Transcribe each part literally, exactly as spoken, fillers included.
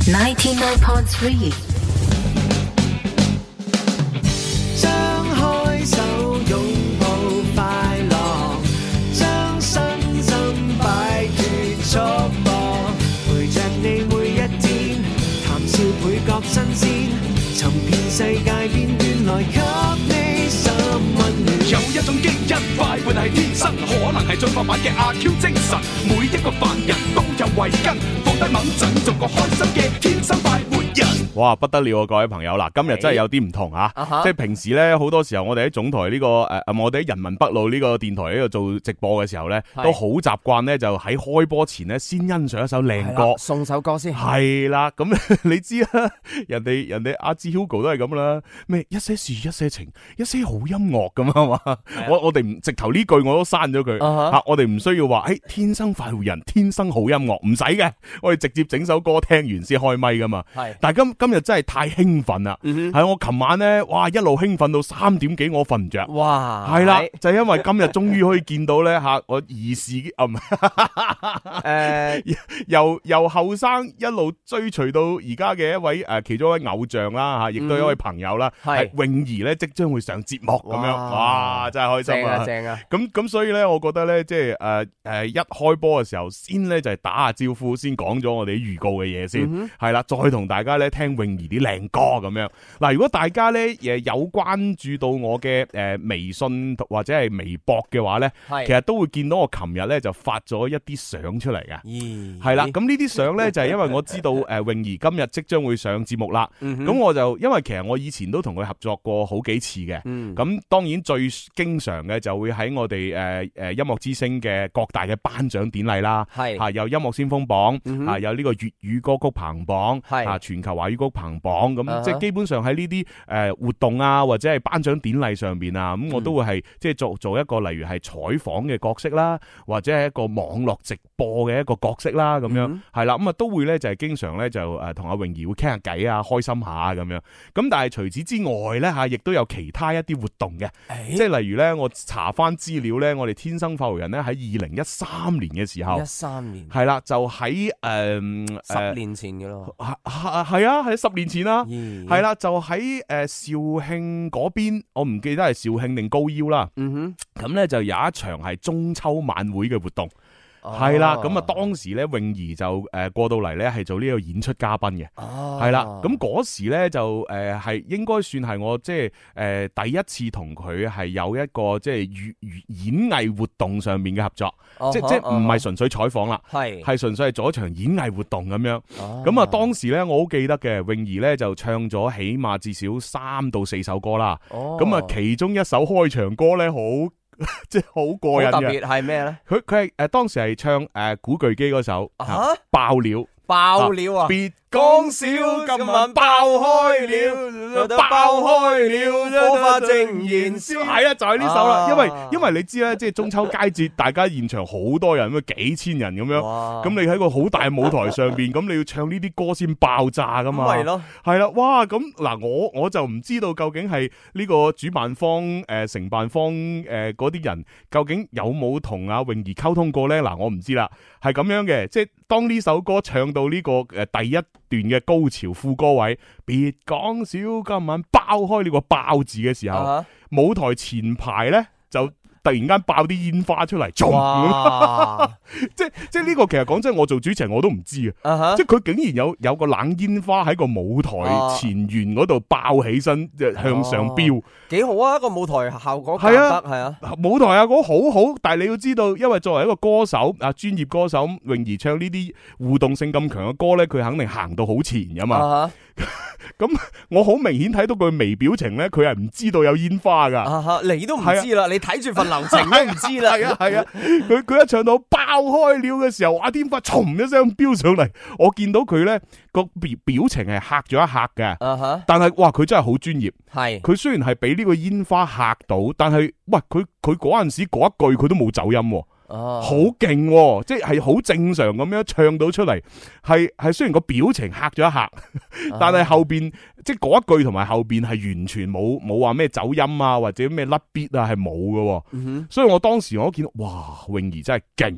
ninety-nine point three。 張開手擁抱快樂，將身心擺脫束縛，陪着你每一天，談笑倍覺新鮮，尋遍世界邊緣來給你心溫暖。 有一種基因快活係天生，可能係進化版嘅阿 Q 精神，每一個凡人都有慧根，放低猛陣做個開心嘅天生快活人。 哇，不得了啊！各位朋友嗱，今日真係有啲唔同啊！ Uh-huh. 即係平時咧，好多時候我哋喺總台呢、這個誒、呃，我哋喺人民北路呢個電台呢度做直播嘅時候咧，都好習慣咧，就喺開波前咧先欣賞一首靚歌， 送首歌先。 係啦，咁你知啦，人哋人哋阿志 Hugo 都係咁啦，咩一些事一些情，一些好音樂咁啊嘛！我我哋唔直頭呢句我都刪咗佢吓，我哋唔需要話誒、欸、天生快活人，天生好音樂，唔使嘅，我哋直接整首歌聽完先開咪噶嘛。係，但係今今日真係太興奮啦，係、嗯、我琴晚咧，哇一路興奮到三點幾，我瞓唔着。哇，係啦，就係、因為今日終於可以見到咧吓，我兒時啊唔誒，由由後生一路追隨到而家嘅一位誒其中一位偶像啦吓，亦都有一位朋友啦，係泳兒咧即將會上節目咁樣，哇真係開心啊！正啊！咁咁所以咧，我覺得咧，即係誒誒一開波嘅時候，先咧就係打下招呼，先講咗我哋預告嘅嘢先，係、嗯、啦，再同大家咧聽泳兒啲靚歌咁樣。嗱，如果大家咧誒有關注到我嘅誒微信或者係微博嘅話咧，其實都會見到我琴日咧就發咗一啲相出嚟嘅，係、欸、啦。咁呢啲相咧就係因為我知道誒泳兒今日即將會上節目啦，咁、嗯、我就因為其實我以前都同佢合作過好幾次嘅，咁、嗯、當然最經常嘅就會喺我哋誒誒音樂之星嘅各大嘅頒獎典禮啦，係吓有音樂先鋒榜，嗯、啊有呢個粵語歌曲排行榜，係啊全球華語歌曲排行榜，咁、uh-huh. 即係基本上喺呢啲誒活動啊或者係頒獎典禮上邊啊，咁我都會係即係做做一個例如係採訪嘅角色啦，或者係一個網絡直播嘅一個角色啦，咁樣係啦，咁啊都會咧就係經常咧就誒同阿泳兒會傾下偈啊，開心下咁樣，咁但係除此之外咧吓，亦都有其他一啲活動嘅，即係例如咧我查翻資料咧，我哋天生快活人咧喺二零一三年嘅時候，一三年係啦，就喺誒、呃、十年前嘅咯，係係啊，係十年前啦，係啦，就喺誒肇慶嗰邊，我唔記得係肇慶定高腰啦，嗯哼，咁咧就有一場係中秋晚會嘅活動。係、哦、啦，咁啊當時咧泳兒就誒過到嚟咧係做呢個演出嘉賓嘅，係、哦、啦，咁嗰時咧就誒係應該算係我即係誒第一次同佢係有一個即係粵語演藝活動上面嘅合作，哦、即即唔係純粹採訪啦，係係純粹係做一場演藝活動咁樣，咁、哦、啊當時咧我好記得嘅，泳兒咧就唱咗起碼至少三到四首歌啦，咁、哦、啊其中一首開場歌咧好。即係好過癮嘅，特別係咩咧？佢佢係誒當時係唱誒、呃、古巨基嗰首、啊、爆料。爆料啊！別講笑，今晚爆開了，爆開了，火花正燃燒。係啊，就係呢首啦、啊。因為因為你知咧，即係中秋佳節，大家現場好多人，咁幾千人咁樣。咁你喺個好大舞台上邊，咁你要唱呢啲歌先爆炸噶嘛？係咯，係啦。哇！咁嗱，我我就唔知道究竟係呢個主辦方誒、呃、承辦方誒嗰啲人究竟有冇同阿泳兒溝通過咧？嗱，我唔知啦。係咁樣嘅，即係當呢首歌唱到呢個誒第一段嘅高潮副歌位，別講笑，今晚爆開呢個爆字嘅時候，uh-huh. 舞台前排咧就突然間爆啲煙花出嚟，即係即係呢個其實講真，我做主持人我都唔知啊，uh-huh. 即係佢竟然有有個冷煙花喺個舞台前緣嗰度爆起身，即係向上飆，幾、uh-huh. 好啊！個舞台效果係啊，係啊，舞台效果好好，但係你要知道，因為作為一個歌手啊，專業歌手，泳兒唱呢啲互動性咁強嘅歌咧，佢肯定行到好前噶嘛。Uh-huh. 咁我好明顯睇到佢微表情咧，佢係唔知道有煙花噶、啊，你都唔知啦、啊，你睇住份流程都唔知啦，係啊係啊，佢佢、啊、一唱到爆開了嘅時候，哇！煙花唰一聲飆上嚟，我見到佢咧個表表情係嚇咗一嚇嘅、啊，但係哇，佢真係好專業，係佢雖然係俾呢個煙花嚇到，但係喂，佢佢嗰陣時嗰一句佢都冇走音。哦，好勁、哦，即係好正常咁樣唱到出嚟，係係雖然個表情嚇咗一嚇，但係後邊即係嗰一句同埋後邊係完全冇冇話咩走音啊或者咩甩 beat 啊係冇㗎，所以我當時我都見到哇，泳兒真係勁。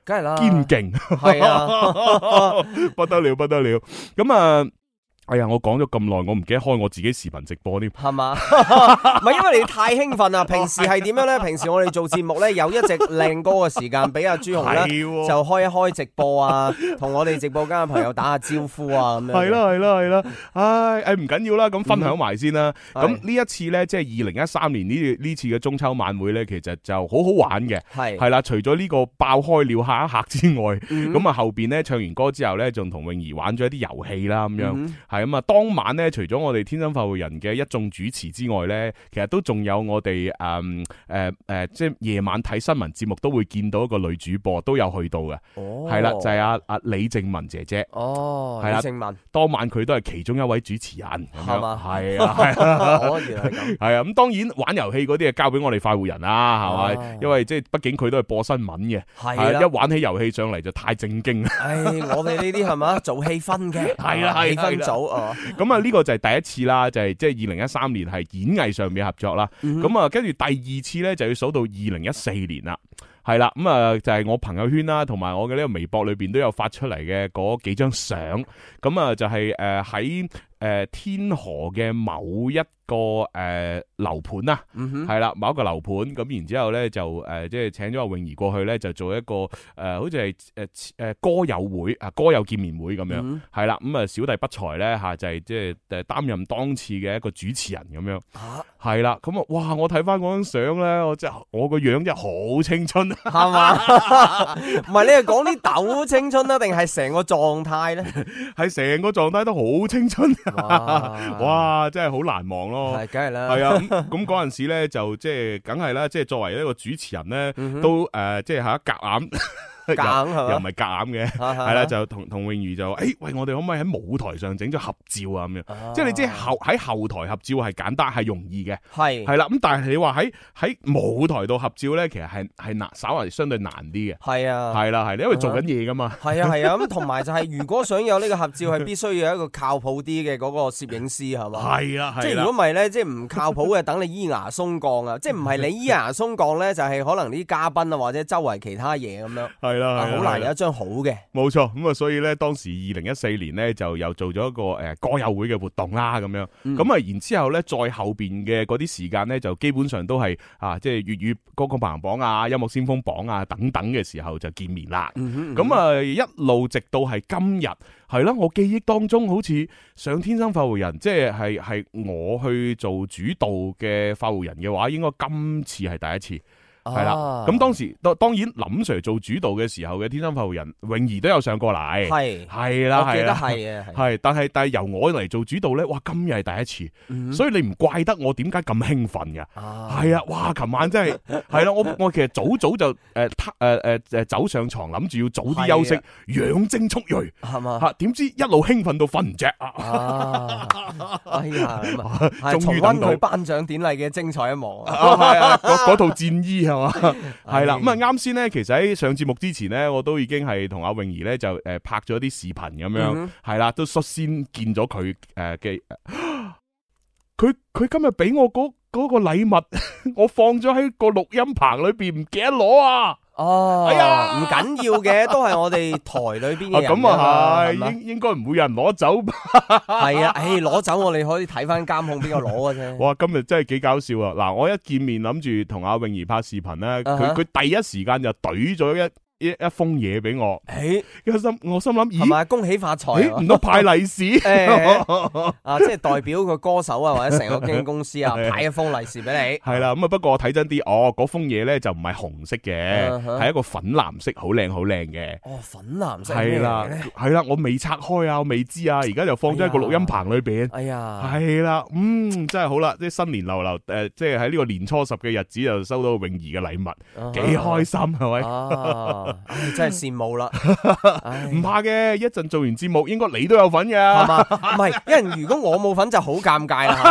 梗係啦， 堅勁， 係啊， 不得了不得了。咁啊，哎呀，我講咗咁耐，我唔記得開我自己視頻直播添， 係嘛？唔係因為你太興奮啦。平時係點樣咧？平時我哋做節目咧，有一隻靚歌嘅時間俾阿朱紅咧，就開一開直播啊，同我哋直播間嘅朋友打下招呼啊，咁樣。 係啦係啦係啦，唉，誒唔緊要啦，咁分享埋先啦。咁呢、嗯、一次咧，即係二零一三年呢呢次嘅中秋晚會咧，其實就好好玩嘅。係係啦，除咗呢個爆開了嚇一嚇之外，咁啊、嗯、後邊咧唱完歌之後咧，仲同泳兒玩咗一啲遊戲啦，咁樣。嗯咁啊，當晚咧，除咗我哋天生發育人嘅一眾主持之外咧，其實都仲有我哋誒誒誒，即係夜晚睇新聞節目都會見到一個女主播都有去到嘅，係啦、哦，就係阿阿李靜文姐姐。哦，係啦，李靜文當晚佢都係其中一位主持人，係嘛？係啊，係啊，哦，原來係咁。係啊，咁當然玩遊戲嗰啲啊，交俾我哋快活人啦，係咪？哦、因為即係畢竟佢都係播新聞嘅，係啦，一玩起遊戲上嚟就太正經啦。 唉，我哋呢啲係嘛，做氣氛嘅，係啊，氣氛組。 咁啊，呢個就係第一次啦，就係即係二零一三年係演藝上面合作啦。咁啊，跟住第二次咧就要數到二零一四年啦，係啦。咁啊，就係我朋友圈啦，同埋我嘅呢個微博裏邊都有發出嚟嘅嗰幾張相。咁啊，就係誒喺誒天河嘅某一個誒樓盤啊，係啦，某一個樓盤。咁然之後咧就誒即係請咗阿泳兒過去咧，就做一個誒好似係誒誒歌友會啊，歌友見面會咁樣，係啦。咁啊小弟不才咧吓就係即係誒擔任當次嘅一個主持人咁樣，係啦。咁啊哇，我睇翻嗰張相咧，我真係我個樣真係好青春，係嘛？ 唔係你係講啲抖青春啊，定係成個狀態咧？ 係成個狀態都好青春，哇，哇真係好難忘咯。 係，梗係啦。係啊，咁嗰陣時咧就即係，梗係啦，即係作為一個主持人咧，嗯、哼都誒、呃，即係吓夾硬。夾硬又唔係夾硬嘅，係啦，就同同泳兒就，誒，喂，我哋可唔可以喺舞台上整咗合照啊？咁樣，即係你知後喺後台合照係簡單係容易嘅，係係啦，咁但係你話喺喺舞台度合照咧，其實係係難，稍為相對難啲嘅，係啊，係啦係，因為做緊嘢噶嘛， 係啊係啊，咁同埋就係如果想有呢個合照，係必須要有一個靠譜啲嘅嗰個攝影師係嘛，係啊係，即係如果唔係咧，即係唔靠譜嘅，等你咿牙鬆降啊，即係唔係你咿牙鬆降咧，就係可能啲嘉賓啊或者周圍其他嘢咁樣，係啦，好難有一張好嘅， 冇錯，咁啊，所以咧當時二零一四年咧就又做咗一個誒歌友會嘅活動啦，咁樣，咁啊，然之後咧再後邊嘅嗰啲時間咧就基本上都係啊，即係粵語歌曲排行榜啊、音樂先鋒榜啊等等嘅時候就見面啦，咁啊一路直到係今日，係啦，我記憶當中好似上天生發育人，即係係係我去做主導嘅發育人嘅話，應該今次係第一次。係啦，咁當時當當然林 Sir 做主導嘅時候嘅天生發育人泳兒都有上過嚟，係係啦，我記得係啊，係，但係但係由我嚟做主導咧，哇，今日係第一次，嗯、所以你唔怪得我點解咁興奮嘅，係啊，哇，琴晚真係係啦，我我其實早早就誒誒誒誒走上床諗住要早啲休息，養精蓄銳，係嘛，吓點知一路興奮到瞓唔着啊， 哎呀，終於等到佢頒獎典禮嘅精彩一幕， 係啊，嗰套戰衣啊。係啦，咁啊啱先咧，其實喺上節目之前咧，我都已經係同阿泳兒咧就誒拍咗啲視頻咁樣，係啦、嗯哼，都率先見咗佢誒嘅，佢佢今日俾我嗰嗰個禮物，我放咗喺個錄音棚裏邊，唔記得攞啊！ 哦，哎呀，唔緊要嘅，都係我哋台裏邊嘅人。 咁啊係，應應該唔會有人攞走。 係啊，誒，攞走我哋可以睇翻監控邊個攞嘅啫。 哇，今日真係幾搞笑啊！嗱，我一見面諗住同阿泳兒拍視頻咧，佢佢、uh huh. 第一時間就懟咗一。一一封嘢俾我，誒，我心我心諗，咦，係咪恭喜發財？ 唔通派利是？ 啊，即係代表個歌手啊，或者成個經紀公司啊，派一封利是俾你。 係啦，咁啊，不過我睇真啲，哦，嗰封嘢咧就唔係紅色嘅，係一個粉藍色，好靚好靚嘅。 哦，粉藍色係啦，係啦，我未拆開啊，我未知啊，而家就放咗喺個錄音棚裏邊。 哎呀， 係啦，嗯，真係好啦，即係新年流流，誒，即係喺呢個年初十嘅日子就收到泳兒嘅禮物，幾開心係咪？ 唉，真係羨慕啦！ 唔怕嘅，一陣做完節目，應該你都有份嘅，係嘛？ 唔係，因為如果我冇份就好尷尬啦，係嘛？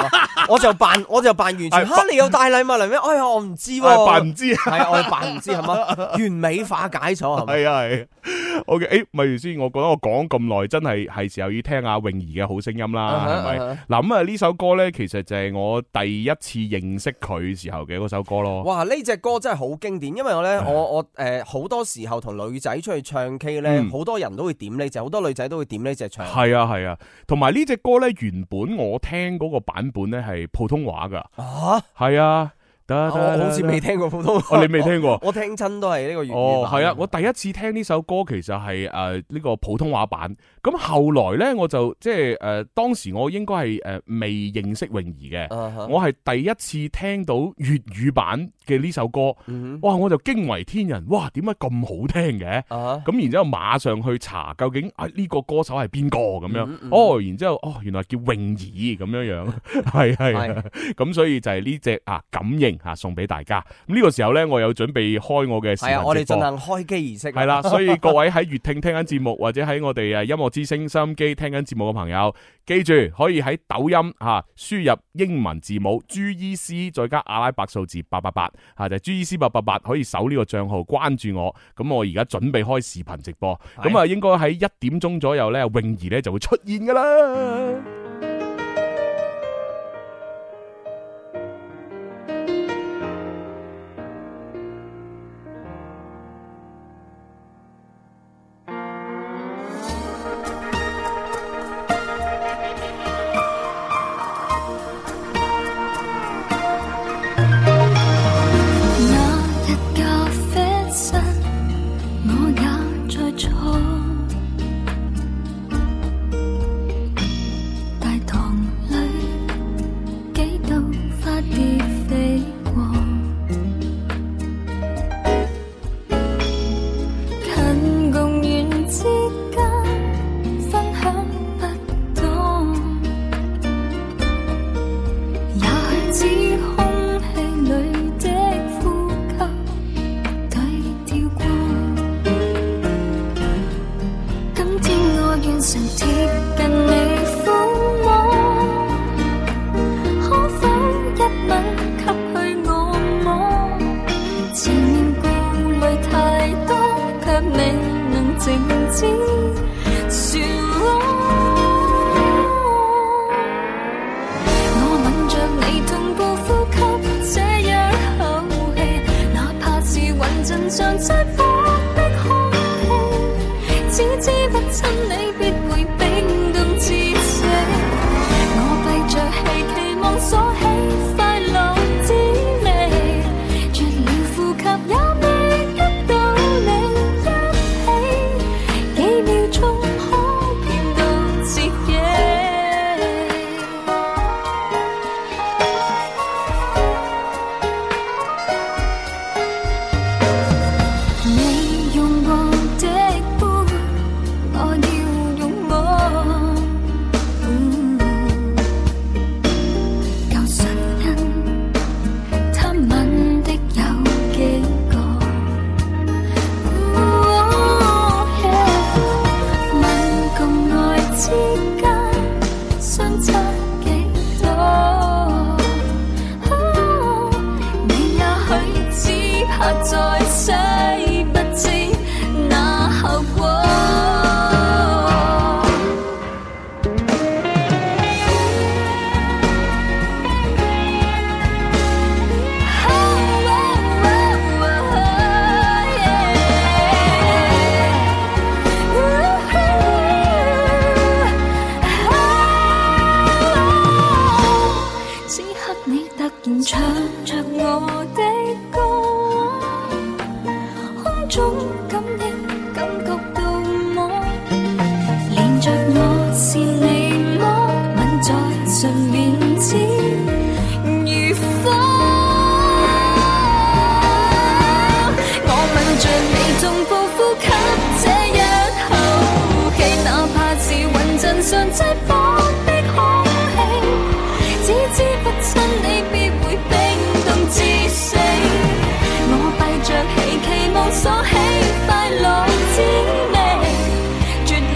我就扮我就扮完全嚇你有帶禮物嚟咩？哎呀，我唔知喎， 扮唔知， 係啊，我扮唔知係嘛？完美化解咗係咪？ 係啊係。O K， 誒，咪住先，我覺得我講咁耐，真係係時候要聽下泳兒嘅好聲音啦，係咪？嗱咁啊，呢首歌咧，其實就係我第一次認識佢時候嘅嗰首歌咯。哇， 呢隻歌真係好經典，因為我咧，我我誒好多時候同女仔出去唱 K 咧，好多人都會點呢隻，好多女仔都會點呢隻唱。 係啊係啊，同埋呢隻歌咧，原本我聽嗰個版本咧係普通話噶。啊，係啊。我好似未聽過普通話， 你未聽過？ 我聽親都係呢個粵語版。 哦，係啊，我第一次聽呢首歌其實係誒呢個普通話版。咁後來咧，我就即係誒當時我應該係誒未認識泳兒嘅，我係第一次聽到粵語版嘅呢首歌。哇！我就驚為天人，哇！點解咁好聽嘅？咁然之後馬上去查究竟啊呢個歌手係邊個咁樣？哦，然之後哦原來叫泳兒咁樣樣，係係。咁所以就係呢隻啊感應。吓送俾大家，咁呢個時候咧，我有準備開我嘅視頻直播。係啊， 我哋進行開機儀式。 係啦，所以各位喺粵聽聽緊節目，或者喺我哋誒音樂之聲收音機聽緊節目嘅朋友，記住可以喺抖音吓輸入英文字母 G E C 再加阿拉伯數字八八八，吓就係 G E C 八八八，可以搜呢個賬號關注我。咁我而家準備開視頻直播，咁啊應該喺一點鐘左右咧，泳兒咧就會出現噶啦。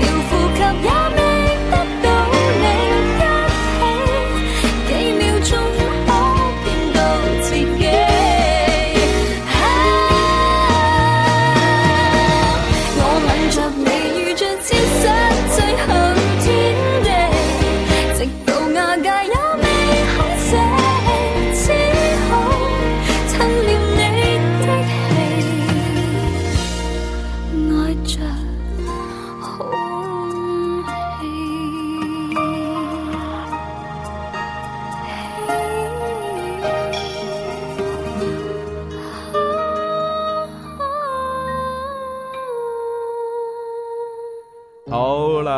也未得到你一起，幾秒鐘。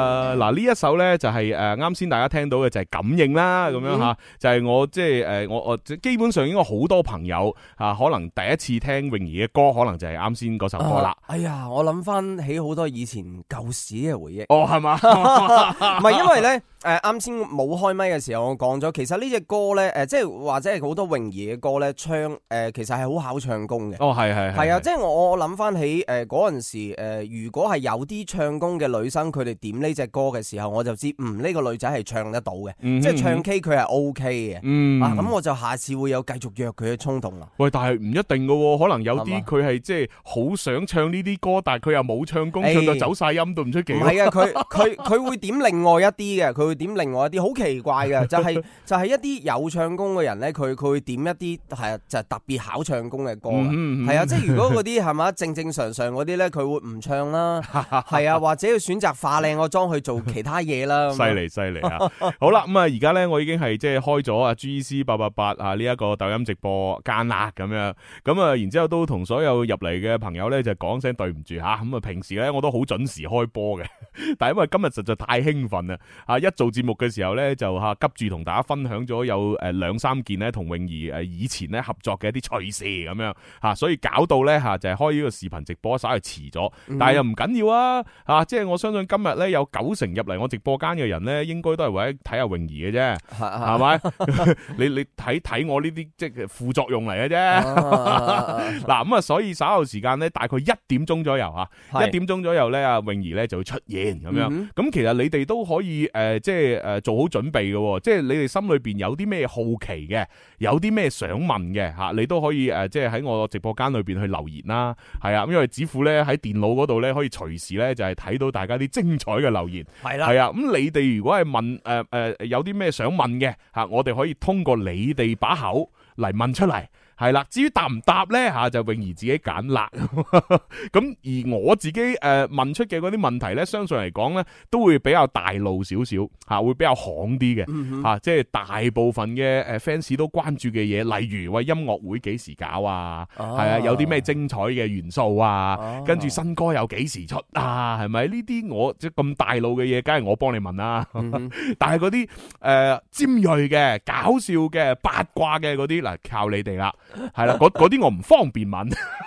誒嗱呢一首咧就係誒啱先大家聽到嘅就係感應啦，咁樣吓，就係我即係誒我我基本上應該好多朋友啊，可能第一次聽泳兒嘅歌，可能就係啱先嗰首歌啦。 哎呀，我諗翻起好多以前舊時嘅回憶。 哦，係嘛？ 唔係因為咧。誒啱先冇開咪嘅時候，我講咗，其實呢隻歌咧，誒即係或者係好多泳兒嘅歌咧，唱誒、呃、其實係好考唱功嘅。 哦，係係係啊，即係我我諗翻起誒嗰陣時，誒、呃、如果係有啲唱功嘅女生，佢哋點呢隻歌嘅時候，我就知嗯呢、呢個女仔係唱得到嘅，嗯、即係唱 K 佢係 O K 嘅。嗯，啊咁我就下次會有繼續約佢嘅衝動啦。 喂，但係唔一定嘅喎，可能有啲佢係即係好想唱呢啲歌，但係佢又冇唱功，唱到走晒音都唔出奇。唔係啊，佢佢佢會點另外一啲嘅，佢會點另外一啲好奇怪嘅，就係、是、就係、是、一啲有唱功嘅人咧，佢佢會點一啲係就係、是、特別考唱功嘅歌嘅，係、嗯嗯、啊，即係如果嗰啲係嘛正正常常嗰啲咧，佢會唔唱啦，係啊，或者要選擇化靚個妝去做其他嘢啦。 犀利犀利啊！好啦，咁啊而家咧我已經係即係開咗啊 G C 八八八啊呢一個抖音直播間啦咁樣，咁啊然之後都同所有入嚟嘅朋友咧就講聲對唔住吓，咁啊平時咧我都好準時開波嘅，但係因為今日實在太興奮啦，啊一做節目嘅時候咧。就吓急住同大家分享咗有誒兩三件咧同泳兒誒以前咧合作嘅一啲趣事咁樣吓，所以搞到咧吓就係開呢個視頻直播稍為遲咗，但係又唔緊要啊吓，即係我相信今日咧有九成入嚟我直播間嘅人咧，應該都係為咗睇下泳兒嘅啫，係咪？你你睇睇我呢啲即係副作用嚟嘅啫。嗱咁啊，所以稍後時間咧大概一點鐘左右吓，一點鐘左右咧阿泳兒咧就會出現咁樣。咁其實你哋都可以誒即係誒做好準備嘅，即係你哋心裏邊有啲咩好奇嘅，有啲咩想問嘅吓，你都可以誒，即係喺我直播間裏邊去留言啦，係啊，因為子富咧喺電腦嗰度咧可以隨時咧就係睇到大家啲精彩嘅留言，係啦，係啊，咁你哋如果係問誒誒有啲咩想問嘅吓，我哋可以通過你哋把口嚟問出嚟。係啦，至於答唔答咧吓，就泳兒自己揀啦。咁而我自己誒問出嘅嗰啲問題咧，相信嚟講咧都會比較大路少少吓，會比較行啲嘅吓，即係大部分嘅誒 fans 都關注嘅嘢，例如喂音樂會幾時搞啊？係啊，有啲咩精彩嘅元素啊？跟住新歌有幾時出啊？係咪呢啲我即係咁大路嘅嘢，梗係我幫你問啦。但係嗰啲誒尖銳嘅、搞笑嘅、八卦嘅嗰啲嗱，靠你哋啦。係啦，嗰嗰啲我唔方便問，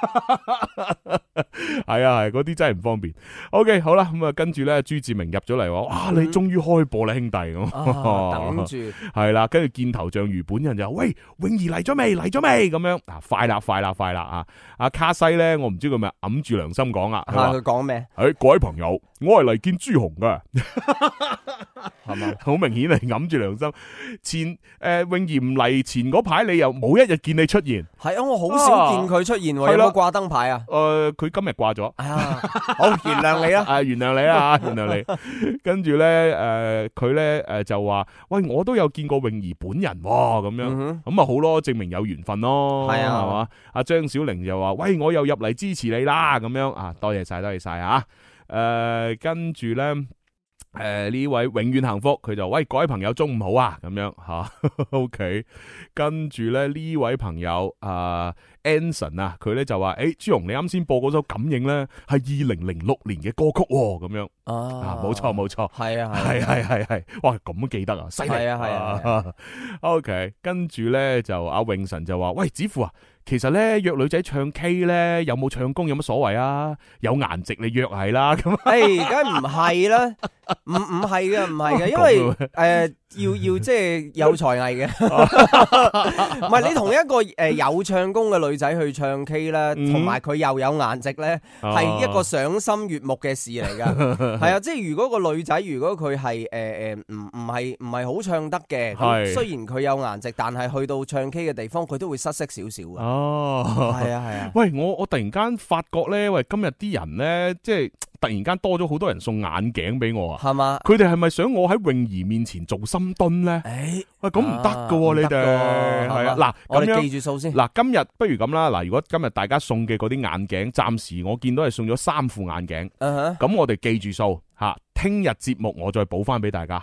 係啊係，嗰啲真係唔方便。OK， 好啦，咁啊跟住咧，朱志明入咗嚟話，哇，你終於開播啦，兄弟咁， 啊、等住係啦，跟住見頭像魚本人就喂，泳兒嚟咗未？嚟咗未？咁樣啊，快啦，快啦，快啦啊！阿卡西咧，我唔知佢咪揞住良心講啦， 佢講咩？ 誒，各位朋友，我係嚟見朱紅噶，係嘛？好明顯係揞住良心。前誒泳兒唔嚟前嗰排，你又冇一日見你出現。 係啊，我好少見佢出現，有冇掛燈牌啊？ 誒，佢今日掛咗。 啊，好，原諒你啦。 啊，原諒你啦，原諒你。跟住咧，誒，佢咧，誒，就話，喂，我都有見過泳兒本人，咁樣，咁啊好咯，證明有緣分咯。係啊，係嘛？阿張小玲就話，喂，我又入嚟支持你啦，咁樣啊，多謝晒，多謝晒啊。誒，跟住咧。誒，呢、呃、位永遠幸福，佢就喂，各位朋友中午好啊，咁樣吓、啊、，OK。跟住咧呢位朋友啊 Anson 啊，佢咧就話，誒、欸，朱紅你啱先播嗰首感應咧係二零零六年嘅歌曲喎，咁樣啊，冇錯冇錯，係啊係係係係，哇咁都記得啊，犀利，係啊係啊，啊，啊 ，OK。跟住咧就阿永神就話，喂，子富啊。其實咧約女仔唱 K 咧有冇唱功有乜所謂啊？有顏值你約係啦咁。 誒，梗係唔係啦，唔唔係嘅，唔係嘅，因為誒、呃、要要即係有才藝嘅，唔係你同一個誒有唱功嘅女仔去唱 K 咧，同埋佢又有顏值咧，係一個賞心悅目嘅事嚟噶。係啊，即係如果個女仔如果佢係誒誒唔唔係唔係好唱得嘅，咁雖然佢有顏值，但係去到唱 K 嘅地方，佢都會失色少少噶。哦，係啊，係啊。喂，我我突然間發覺咧，喂，今日啲人咧，即係突然間多咗好多人送眼鏡俾我啊，係嘛？佢哋係咪想我喺泳兒面前做深蹲咧？誒，喂，咁唔得噶，你哋係啊。嗱，我哋記住數先。嗱，今日不如咁啦。嗱，如果今日大家送嘅嗰啲眼鏡，暫時我見到係送咗三副眼鏡。咁我哋記住數吓，聽日節目我再補翻俾大家。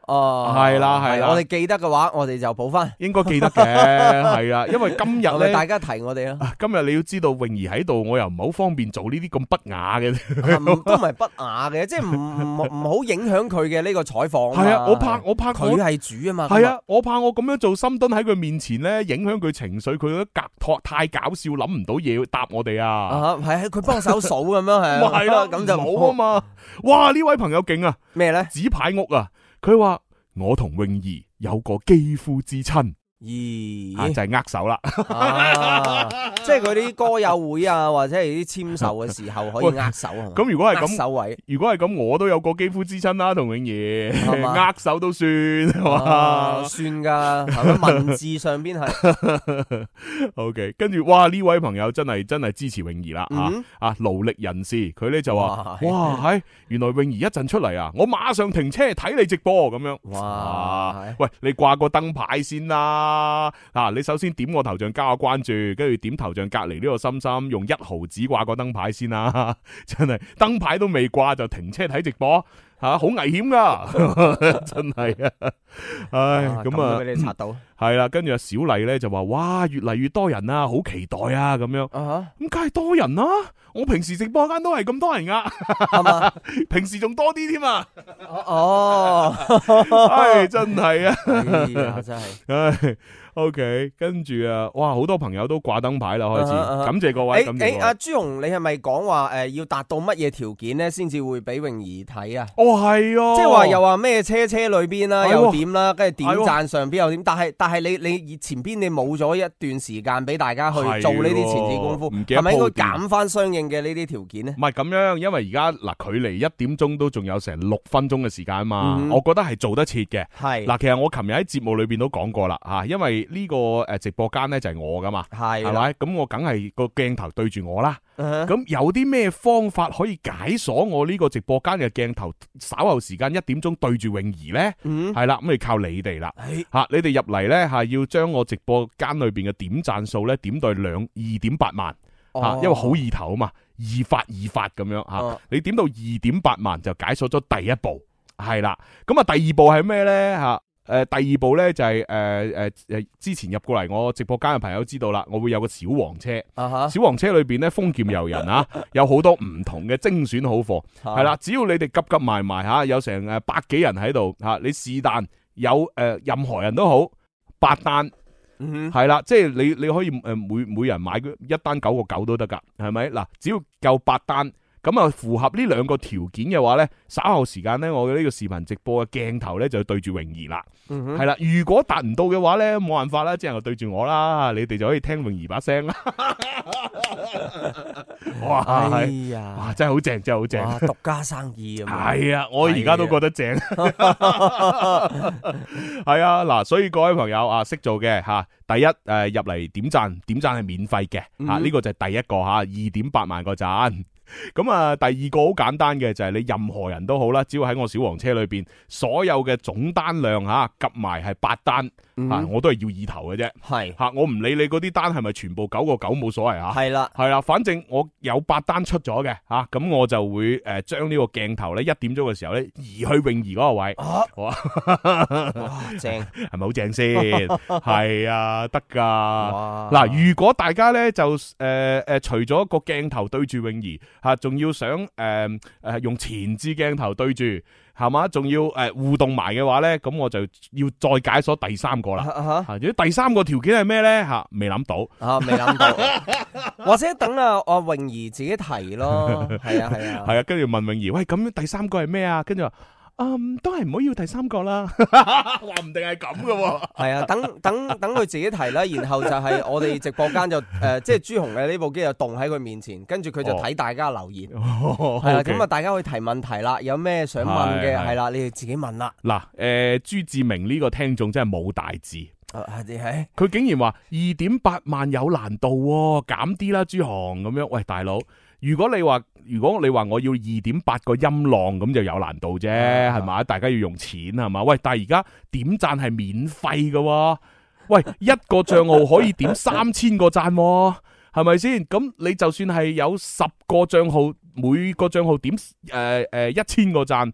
哦， 係啦係啦， 我哋記得嘅話，我哋就補翻， 應該記得嘅，係啊，因為今日咧， 大家提我哋啦。 今日你要知道，泳兒喺度，我又唔係好方便做呢啲咁不雅嘅， 都唔係不雅嘅，即係唔唔唔好影響佢嘅呢個採訪。 係啊，我怕我怕佢係主啊嘛。 係啊，我怕我咁樣做深蹲喺佢面前咧，影響佢情緒，佢覺得隔托太搞笑，諗唔到嘢答我哋啊。啊， 係佢幫手數咁樣係。 係啦，咁就冇啊嘛。哇，呢位朋友勁啊！ 咩咧？ 紙牌屋啊，佢話我同泳兒有個肌膚之親。 咦， 啊，就係握手啦， 啊，即係佢啲歌友會啊，或者係啲簽售嘅時候可以握手啊。 咁如果係咁， 握手位， 如果係咁，我都有個肌膚之親啦，同泳兒握手都算， 啊，算噶，文字上邊係。 O K， 跟住哇，呢位朋友真係真係支持泳兒啦， 嗯、 啊啊勞力人士，佢咧就話哇，係原來泳兒一陣出嚟啊，我馬上停車睇你直播咁樣。哇，喂，你掛個燈牌先啦。啊！嗱，你首先點我頭像加個關注，跟住點頭像隔籬呢個心心，用一毫紙掛個燈牌先啦。真係燈牌都未掛就停車睇直播，吓好危險噶，真係啊！唉，咁啊， 俾你刷到係啦。跟住阿小麗咧就話：哇，越嚟越多人啊，好期待啊！咁樣，咁梗係多人啦。我平時直播間都係咁多人噶，係嘛？平時仲多啲添啊！哦，唉，真係啊， 真係， 唉。O K， 跟住啊，哇，好多朋友都掛燈牌啦，開始，感謝各位。 誒誒，阿朱紅，你係咪講話誒要達到乜嘢條件咧，先至會俾泳兒睇啊？ 哦，係啊， 即係話又話咩車車裏邊啦，又點啦，跟住點讚上邊又點，但係但係你你前邊你冇咗一段時間俾大家去做呢啲前置功夫，係咪應該減翻相應嘅呢啲條件咧？ 唔係咁樣，因為而家嗱距離一點鐘都仲有成六分鐘嘅時間啊嘛，我覺得係做得切嘅。係嗱，其實我琴日喺節目裏邊都講過啦，吓，因為呢個誒直播間咧就係我噶嘛，係係咪？咁我梗係個鏡頭對住我啦。咁、uh-huh. 有啲咩方法可以解鎖我呢個直播間嘅鏡頭？稍後時間一點鐘對住泳兒咧，係啦，咁你靠你哋啦。吓，你哋入嚟咧吓，要將我直播間裏邊嘅點讚數咧點到兩二點八萬吓，oh. 因為好意頭啊嘛，二發二發咁樣吓，oh. 你點到二點八萬就解鎖咗第一步，係啦。咁啊，第二步係咩咧吓？誒、呃，第二步咧就係誒誒誒，之前入過嚟我直播間嘅朋友知道啦，我會有個小黃車，uh-huh. 小黃車裏邊咧豐儉由人啊，有好多唔同嘅精選好貨，係啦，只要你哋急急埋埋吓，有成誒百幾人喺度吓，你是但有誒、呃、任何人都好，八單，係啦，即係你你可以誒每每人買一單九個九都得噶，係咪？嗱，只要夠八單。咁啊，符合呢兩個條件嘅話咧，稍後時間咧，我嘅呢個視頻直播嘅鏡頭咧就要對住泳兒啦，係、嗯、啦。如果達唔到嘅話咧，冇辦法啦，只能夠對住我啦，你哋就可以聽泳兒把聲啦。哇，哎呀，哇，真係好正，真係好正， 獨家生意啊！ 係啊，我而家都覺得正。係啊，嗱，所以各位朋友啊，識做嘅吓，第一誒入嚟點讚，點讚係免費嘅吓，呢、嗯這個就係第一個吓，二點八萬個讚。咁啊，第二個好簡單嘅就係你任何人都好啦，只要喺我小黃車裏邊，所有嘅總單量吓夾埋係八單，嗯啊、我都係要意頭嘅啫。係吓，我唔理你嗰啲單係咪全部九個九冇所謂啊。係啦，係啦，反正我有八單出咗嘅吓，咁我就會誒將呢個鏡頭咧一點鐘嘅時候咧移去泳兒嗰個位。啊、哇，正係咪好正先？係啊，得噶。嗱，如果大家咧就誒誒、呃、除咗個鏡頭對住泳兒。吓，仲要想誒誒、呃、用前置鏡頭對住，係嘛？仲要誒、呃、互動埋嘅話咧，咁我就要再解鎖第三個啦。吓、啊，如果第三個條件係咩咧？吓，未諗到啊，未諗到，或者等啊阿泳兒自己提咯。係啊係啊，係啊，跟住問泳兒，喂，咁第三個係咩啊？跟住話。嗯，都係唔好要第三個啦，話唔定係咁噶喎。係啊，等等等佢自己提啦，然後就係我哋直播間就誒、呃，即係朱紅嘅呢部機就動喺佢面前，跟住佢就睇大家留言，係、哦、啊，咁、哦、啊，大家可以提問題啦，有咩想問嘅係啦，你哋自己問啦。嗱，誒、呃，朱志明呢個聽眾真係冇大志，係，佢竟然話二點八萬有難度，減啲啦，朱紅咁樣。喂，大佬，如果你話。如果你話我要二點八個音浪咁就有難度啫，係嘛？大家要用錢係嘛？喂，但係而家點讚係免費㗎，喂，一個賬號可以點三千個讚，係咪先？咁你就算係有十個賬號，每個賬號點誒誒一千個讚，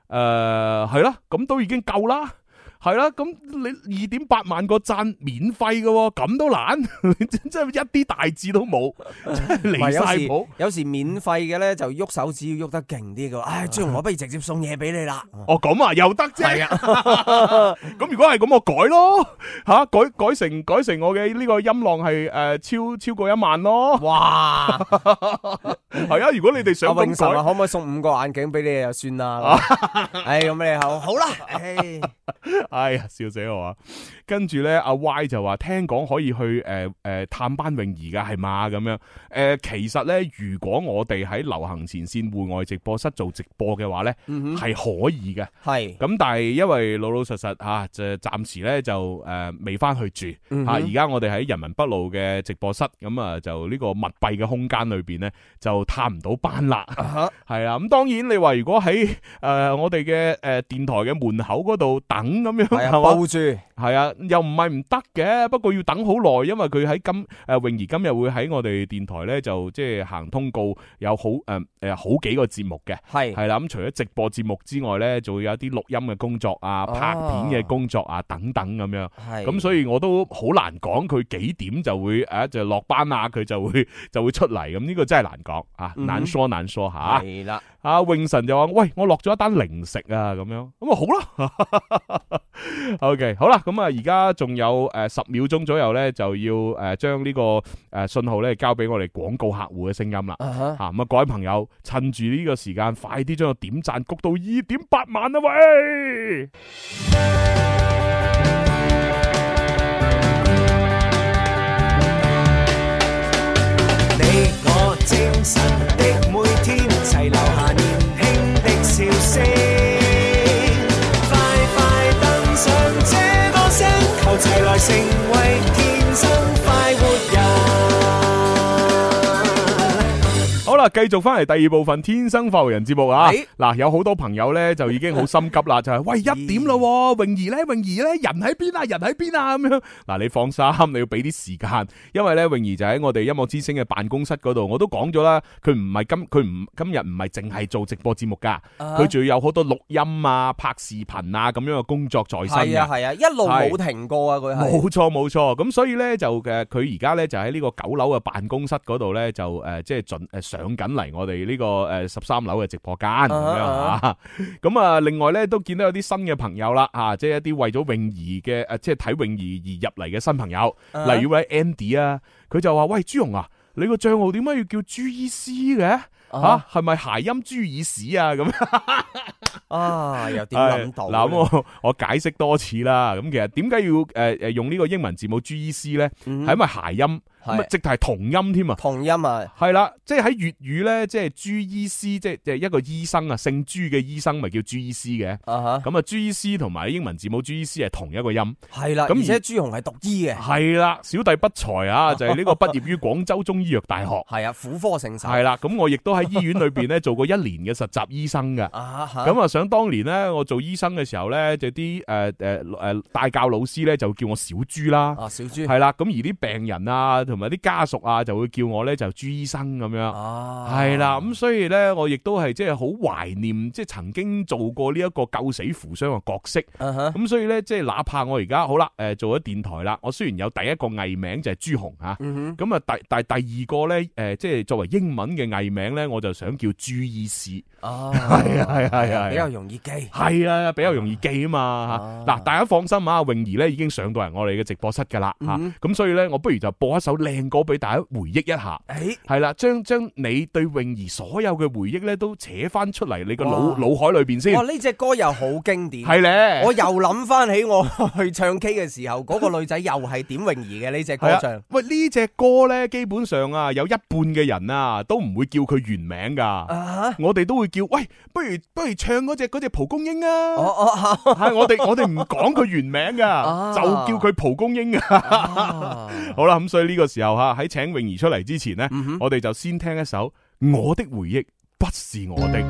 誒係啦，咁都已經夠啦。係啦，咁你二點八萬個讚免費嘅，咁都難，真係一啲大志都冇，離晒譜。 有時免費嘅咧就喐手指要喐得勁啲嘅，唉，朱紅我不如直接送嘢俾你啦。 哦，咁啊又得啫。係啊，咁如果係咁我改咯，吓改改成改成我嘅呢個音浪係誒超超過一萬咯。 哇， 係啊，如果你哋想永神啊，可唔可以送五個眼鏡俾你就算啦？唉，咁你好好啦，唉。 哎呀，笑死我啊！跟住咧，阿 Y 就話聽講可以去誒誒、呃、探班泳兒噶係嘛咁樣誒、呃，其實咧如果我哋喺流行前線戶外直播室做直播嘅話咧，係、嗯、可以嘅。係咁，但係因為老老實實吓，就暫時咧就誒未翻去住吓。而家我哋喺人民北路嘅直播室，咁啊就呢個密閉嘅空間裏邊咧，就探唔到班啦。係啊，咁當然你話如果喺誒、呃、我哋嘅誒電台嘅門口嗰度等咁樣，係啊， 包住係啊。又唔係唔得嘅，不過要等好耐，因為佢喺今誒泳兒今日會喺我哋電台咧，就即係行通告，有好誒誒、呃、好幾個節目嘅，係係啦。咁除咗直播節目之外咧，就會有一啲錄音嘅工作啊、拍片嘅工作啊等等咁樣。係咁，所以我都好難講佢幾點就會誒就落班啊，佢就會就會出嚟。咁呢個真係難講啊，難說難說吓。係啦，阿永神就話：喂，我落咗一單零食啊，咁樣咁啊好啦。OK， 好啦，咁啊而家仲有誒十秒鐘左右咧，就要誒將呢個誒信號咧交俾我哋廣告客戶嘅聲音啦。吓咁啊，各位朋友趁住呢個時間，快啲將個點讚谷到二點八萬啊喂！你我精神的每天，齊留下年輕的笑聲。求齊來成為天生快活人。好啦，繼續翻嚟第二部分《天生快活人》節目啊！嗱，有好多朋友咧就已經好心急啦，就係喂一點咯，泳兒咧，泳兒咧，人喺邊啊？人喺邊啊？咁樣嗱，你放心，你要俾啲時間，因為咧泳兒就喺我哋音樂之聲嘅辦公室嗰度，我都講咗啦，佢唔係今佢唔今日唔係淨係做直播節目噶，佢仲要有好多錄音啊、拍視頻啊咁樣嘅工作在身嘅。係啊係啊，一路冇停過啊！佢係冇錯冇錯，咁所以咧就誒，佢而家咧就喺呢個九樓嘅辦公室嗰度咧就誒，即係盡誒上緊嚟我哋呢個誒十三樓嘅直播間咁樣啊，咁啊另外咧都見到有啲新嘅朋友啦，啊即係一啲為咗泳兒嘅誒，即係睇泳兒而入嚟嘅新朋友，例如位 Andy 啊，佢就話喂朱紅啊，你個賬號點解要叫朱醫師嘅？吓係咪諧音朱耳屎啊？咁啊又點諗到？嗱，我我解釋多次啦。咁其實點解要誒誒用呢個英文字母朱醫師咧？係因為諧音。咁直頭係同音添啊！同音啊，係啦，即係喺粵語咧，即係朱醫師，即係即係一個醫生啊，姓朱嘅醫生咪叫朱醫師嘅。咁啊，朱醫師同埋英文字母朱醫師係同一個音。係啦，咁而且朱紅係讀醫嘅。係啦，小弟不才啊，就係呢個畢業於廣州中醫藥大學。係啊，婦科聖手。係啦，咁我亦都喺醫院裏邊咧做過一年嘅實習醫生嘅。咁啊，想當年咧，我做醫生嘅時候咧，就啲誒誒誒帶教老師咧就叫我小朱啦。啊，小朱。係啦，咁而啲病人啊，同埋啲家屬啊，就會叫我咧就朱醫生咁樣，係啦，咁所以咧我亦都係即係好懷念，即係曾經做過呢一個救死扶傷嘅角色，咁所以咧即係哪怕我而家好啦，誒做咗電台啦，我雖然有第一個藝名就係朱紅吓，咁啊第但係第二個咧誒即係作為英文嘅藝名咧，我就想叫朱醫師，係啊係係係，比較容易記，係啊比較容易記啊嘛吓，嗱大家放心啊，泳兒咧已經上到嚟我哋嘅直播室噶啦吓，咁所以咧我不如就播一首靚歌俾大家回憶一下，係啦，將將你對泳兒所有嘅回憶咧都扯翻出嚟你個腦腦海裏邊先。哇，呢隻歌又好經典，係咧，我又諗翻起我去唱 K 嘅時候，嗰個女仔又係點泳兒嘅呢隻歌唱。喂，呢隻歌咧，基本上啊，有一半嘅人啊都唔會叫佢原名噶，我哋都會叫，喂，不如不如唱嗰隻嗰隻蒲公英啊，係我哋我哋唔講佢原名噶，就叫佢蒲公英啊。好啦，咁所以呢個時候吓喺請泳兒出嚟之前呢，嗯、我哋就先聽一首《我的回憶不是我的》。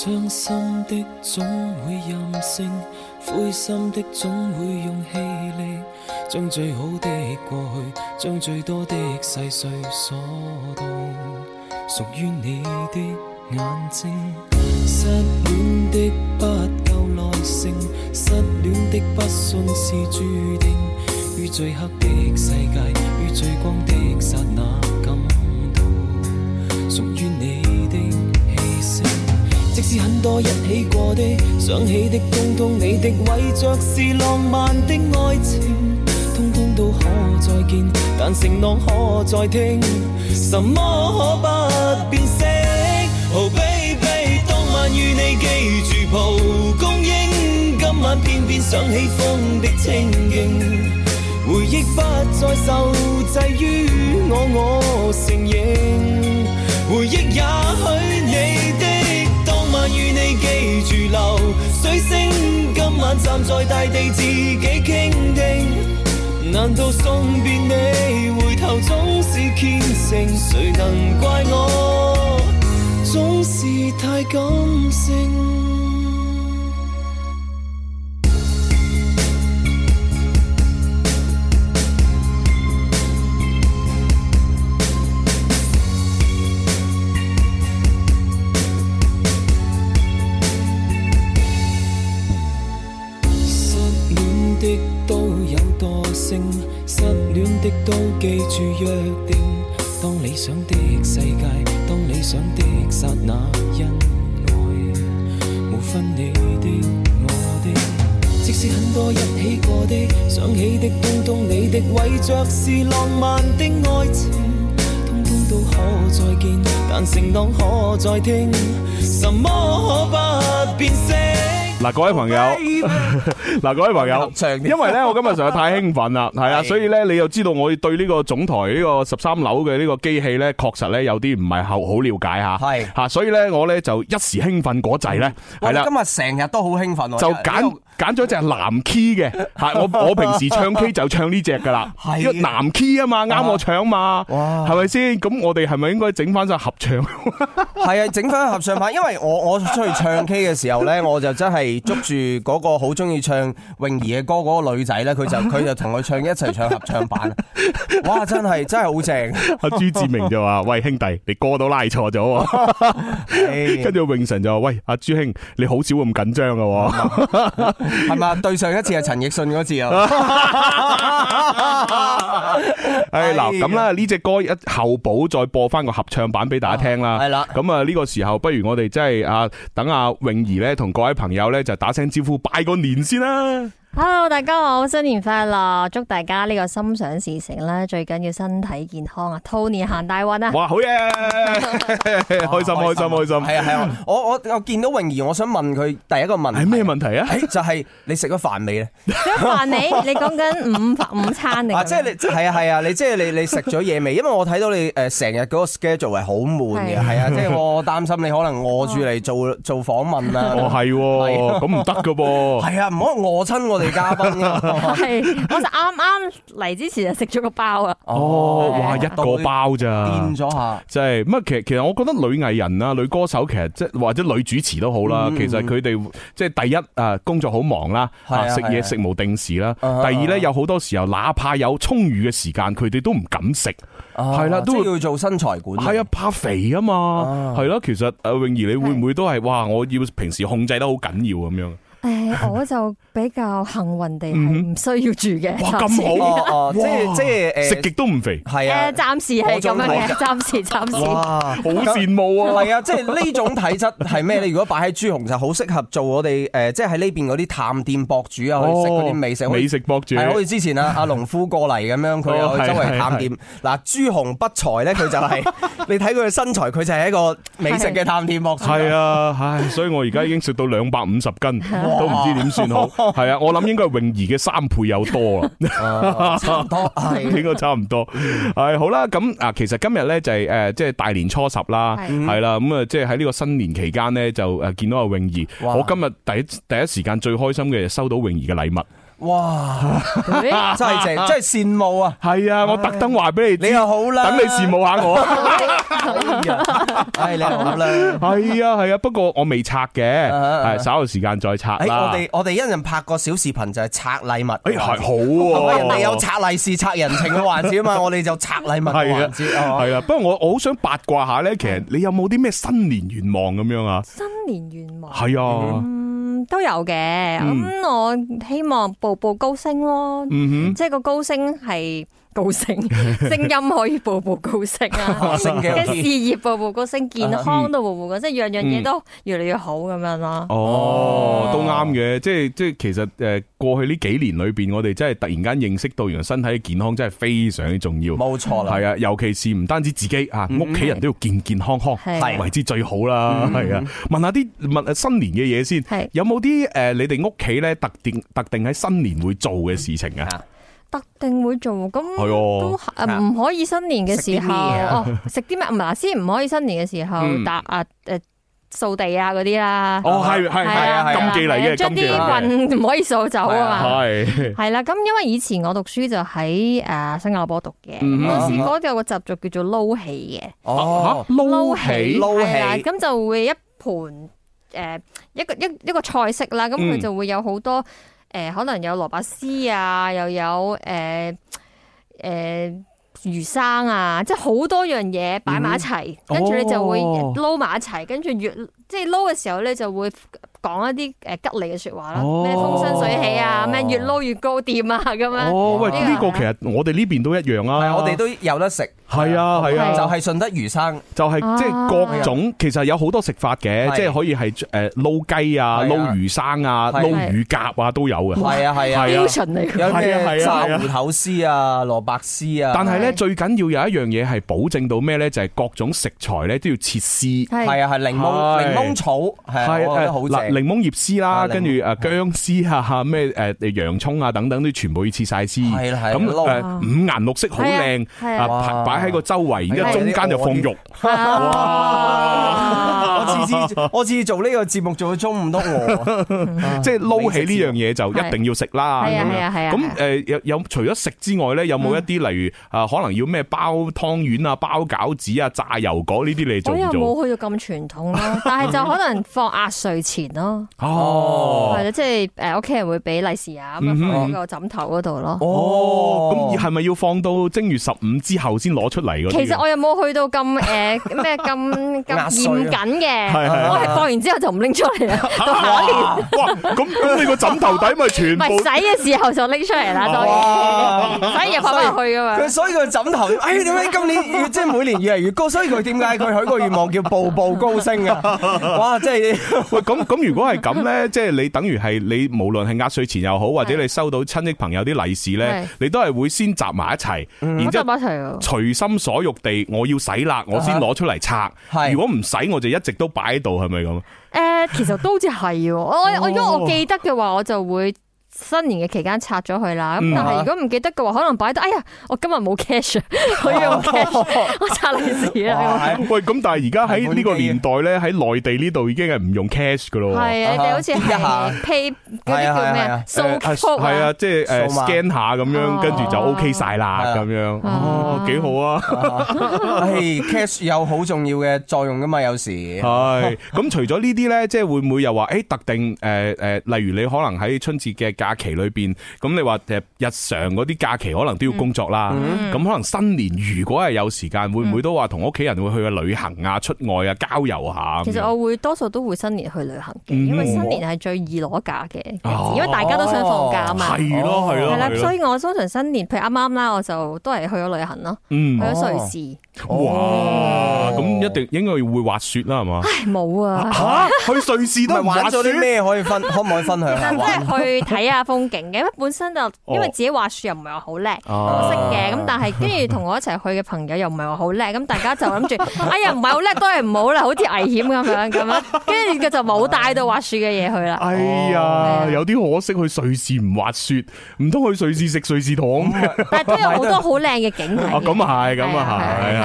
傷心的總會任性，灰心的總會用氣力，將最好的過去，將最多的細碎鎖到屬於你的眼睛。失戀的不夠耐性，失戀的不信是注定，於最黑的世界，於最光的剎那感到屬於你的氣息。即使很多一起過的，想起的通通你的，為着是浪漫的愛情，通通都可再見，但承諾可再聽，什麼可不變色。Oh baby， 當晚與你記住蒲公英，今晚偏偏想起風的清勁，回憶不再受制於我，我承認，回憶也許你的。與你記住流水聲，今晚站在大地自己傾聽，難道送別你回頭總是虔誠，誰能怪我總是太感性。失戀的都記住約定，當理想的世界，當理想的剎那，因愛無分你的我的，即使很多一起過的，想起的通通你的，為着是浪漫的愛情，通通都可再見，但承諾可再聽，什麼可不變色。 嗱，各位朋友，嗱，各位朋友，因為咧我今日實在太興奮啦，係啊，所以咧你又知道我對呢個總台呢個十三樓嘅呢個機器咧，確實咧有啲唔係好好了解吓，係吓，所以咧我咧就一時興奮嗰陣咧，係啦， 今日成日都好興奮， 就揀揀咗隻藍 key 嘅，吓，我我平時唱 K 就唱呢隻噶啦，係藍 key 啊嘛，啱我唱嘛，哇，係咪先？咁我哋係咪應該整翻晒合唱？ 係啊，整翻合唱版，因為我我出去唱 K 嘅時候咧，我就真係捉住嗰個好中意唱泳兒嘅歌嗰個女仔咧，佢就佢就同佢唱一齊唱合唱版，哇！真係真係好正。 阿朱志明就話：喂兄弟，你歌都拉錯咗。跟住永臣就話：喂阿朱兄，你好少咁緊張噶， 係嘛？對上一次係陳奕迅嗰次啊。 誒嗱，咁啦，呢隻歌一後補再播翻個合唱版俾大家聽啦。係啦，咁啊呢個時候，不如我哋真係啊等阿泳兒咧同各位朋友咧就打聲招呼，拜個年先啦。 Hello， 大家好，新年快樂，祝大家呢個心想事成啦，最緊要身體健康啊，兔年行大運啊！ 哇，好嘢，開心開心開心， 係啊係啊，我我我見到泳兒，我想問佢第一個問題係咩問題啊？ 就係你食咗飯未咧？ 食咗飯未？你講緊午午餐定？ 啊，即係你係啊係啊，你即係你你食咗嘢未？因為我睇到你誒成日嗰個 schedule 係好悶嘅，係啊，即係我擔心你可能餓住嚟做做訪問啊。 哦係，咁唔得噶噃。 係啊，唔好餓親我哋嘉賓。 係，我就啱啱嚟之前就食咗個包啊！ 哦，哇，一個包咋？ 變咗下， 即係乜？其實其實我覺得女藝人啊、女歌手其實即係或者女主持都好啦。其實佢哋即係第一啊，工作好忙啦，食嘢食無定時啦。第二咧，有好多時候，哪怕有充裕嘅時間，佢哋都唔敢食，係啦， 都要做身材管理。 係啊，怕肥啊嘛，係咯。其實阿泳兒，你會唔會都係哇？我要平時控制得好緊要咁樣？ 誒，我就比較幸運地係唔需要住嘅。 哇，咁好， 即係即係誒， 食極都唔肥。 係啊， 誒，暫時係咁樣嘅，暫時暫時。 哇， 好羨慕啊！ 係啊，即係呢種體質係咩？你如果擺喺朱紅就好適合做我哋誒，即係喺呢邊嗰啲探店博主啊，去食嗰啲美食。 美食博主係好似之前啊，阿農夫過嚟咁樣，佢又周圍探店。嗱，朱紅不才咧，佢就係你睇佢嘅身材，佢就係一個美食嘅探店博主。 係啊，唉，所以我而家已經食到兩百五十斤。都唔知點算好，係啊！我諗應該係泳兒嘅三倍有多啦， 差唔多係應該差唔多。係好啦，咁啊，其實今日咧就係誒，即係大年初十啦，係啦，咁啊，即係喺呢個新年期間咧，就誒見到阿泳兒。我今日第一第一時間最開心嘅收到泳兒嘅禮物。 哇！真係正，真係羨慕啊！ 係啊，我特登話俾你知， 你又好啦， 等你羨慕下我。 唉，你又好啦。 係啊係啊，不過我未拆嘅，係稍後時間再拆啦。 我哋我哋一陣拍個小視頻就係拆禮物。 誒係好喎， 人哋有拆利是、拆人情嘅環節啊嘛，我哋就拆禮物嘅環節。 係啊，不過我我好想八卦下咧，其實你有冇啲咩新年願望咁樣啊？ 新年願望係啊。 都有嘅，咁、嗯、我希望步步高升咯，嗯、即係個高升係高升，聲音可以步步高升啊，嘅事業步步高升，健康都步步高升，即係樣樣嘢都越嚟越好咁樣咯。 哦，都啱嘅，即係即係其實誒過去呢幾年裏邊，我哋真係突然間認識到，原來身體嘅健康真係非常之重要。冇錯啦，係啊，尤其是唔單止自己啊，屋企人都要健健康康，係為之最好啦。係啊，問下啲問新年嘅嘢先，有冇啲誒你哋屋企咧特定特定喺新年會做嘅事情啊？ 特定會做，咁都誒唔可以新年嘅時候哦，食啲咩？唔係先唔可以新年嘅時候搭啊誒掃地啊嗰啲啦。哦，係係係啊，禁忌嚟嘅，將啲運唔可以掃走啊嘛。係係啦，咁因為以前我讀書就喺誒新加坡讀嘅，嗰時嗰度有個習俗叫做撈戲嘅。 哦，撈戲撈戲，咁就會一盤誒一個一一個菜式啦，咁佢就會有好多。誒，可能有蘿蔔絲啊，又有誒誒、呃呃、魚生啊，即係好多樣嘢擺埋一齊，跟住你就會撈埋一齊，跟住越即係撈嘅時候咧就會講一啲誒吉利嘅說話啦，咩風生水起啊，咩越撈越高店啊咁樣。 哦，喂，呢個其實我哋呢邊都一樣啊， 我哋都有得食。 係啊係啊， 就係順德魚生， 就係即係各種，其實有好多食法嘅，即係可以係誒撈雞啊、撈魚生啊、撈乳鴿啊都有嘅。係啊係啊， 標準嚟嘅。有咩炸芋頭絲啊、蘿蔔絲啊。但係咧最緊要有一樣嘢係保證到咩咧？就係各種食材咧都要切絲。係啊係檸檬檸檬草係我覺得好正。檸檬葉絲啦，跟住誒薑絲啊、咩誒洋蔥啊等等都全部要切晒絲。係啦係。咁誒五顏六色好靚啊！擺喺個周圍，然之後中間就放肉。哇！我次次我次次做呢個節目做到中午都餓，即係撈起呢樣嘢就一定要食啦。係啊係啊係啊。咁誒有有除咗食之外咧，有冇一啲例如啊可能要咩包湯圓啊、包餃子啊、炸油果呢啲你做唔做？我又冇去到咁傳統咯，但係就可能放壓歲錢咯。哦，係啦，即係誒屋企人會俾利是啊，咁啊放喺個枕頭嗰度咯。哦，咁係咪要放到正月十五之後先攞出嚟？其實我又冇去到咁誒咩咁咁嚴謹嘅，我係放完之後就唔拎出嚟啦。到下一年，哇！咁咁你個枕頭底咪全部？唔係洗嘅時候就拎出嚟啦，當然，所以又放翻入去噶嘛。佢所以個枕頭，哎點解今年越即係每年越嚟越高？所以佢點解佢許個願望叫步步高升啊？哇！即係喂咁咁，如果係咁咧，即係你等於係你無論係壓歲錢又好，或者你收到親戚朋友啲利是咧，你都係會先集埋一齊，然之後隨心所欲地我要洗啦，我先攞出嚟拆。Uh-huh. 如果唔洗，我就一直都擺喺度，係咪咁？誒、呃，其實都好似係，我我如果我記得嘅話，我就會。新年嘅期間拆咗佢啦，咁但係如果唔記得嘅話，可能擺得，哎呀，我今日冇 cash， 我要用 cash， 我拆利是啦。喂，咁但係而家喺呢個年代咧，喺內地呢度已經係唔用 cash 噶咯。係啊，你哋好似係 pay 嗰啲叫咩啊？掃 code 係啊，即係誒 scan 下咁樣，跟住就 OK 晒啦咁樣。哦，幾好啊！係 cash 有好重要嘅作用噶嘛，有時係。咁除咗呢啲咧，即係會唔會又話誒特定誒誒，例如你可能喺春節嘅假期裏邊，咁你話誒日常嗰啲假期可能都要工作啦，咁、嗯、可能新年如果係有時間，會唔會都話同屋企人會去個旅行啊、出外啊、郊遊下？其實我會多數都會新年去旅行嘅、嗯，因為新年係最易攞假嘅、哦，因為大家都想放假啊嘛。係咯係咯，係啦，所以我通常新年，譬如啱啱啦，我就都係去咗旅行咯、嗯，去咗瑞士。哇，咁一定應該會滑雪啦，係嘛？唉，冇啊！吓，去瑞士都玩咗啲咩？可以分可唔可以分享下？即係去睇下風景嘅，因為本身就因為自己滑雪又唔係話好叻，我識嘅，咁但係跟住同我一齊去嘅朋友又唔係話好叻，咁大家就諗住，哎呀唔係好叻都係唔好啦，好似危險咁樣咁樣，跟住佢就冇帶到滑雪嘅嘢去啦。哎呀，有啲可惜，去瑞士唔滑雪，唔通去瑞士食瑞士糖？但係都有好多好靚嘅景睇。咁啊係，咁啊係。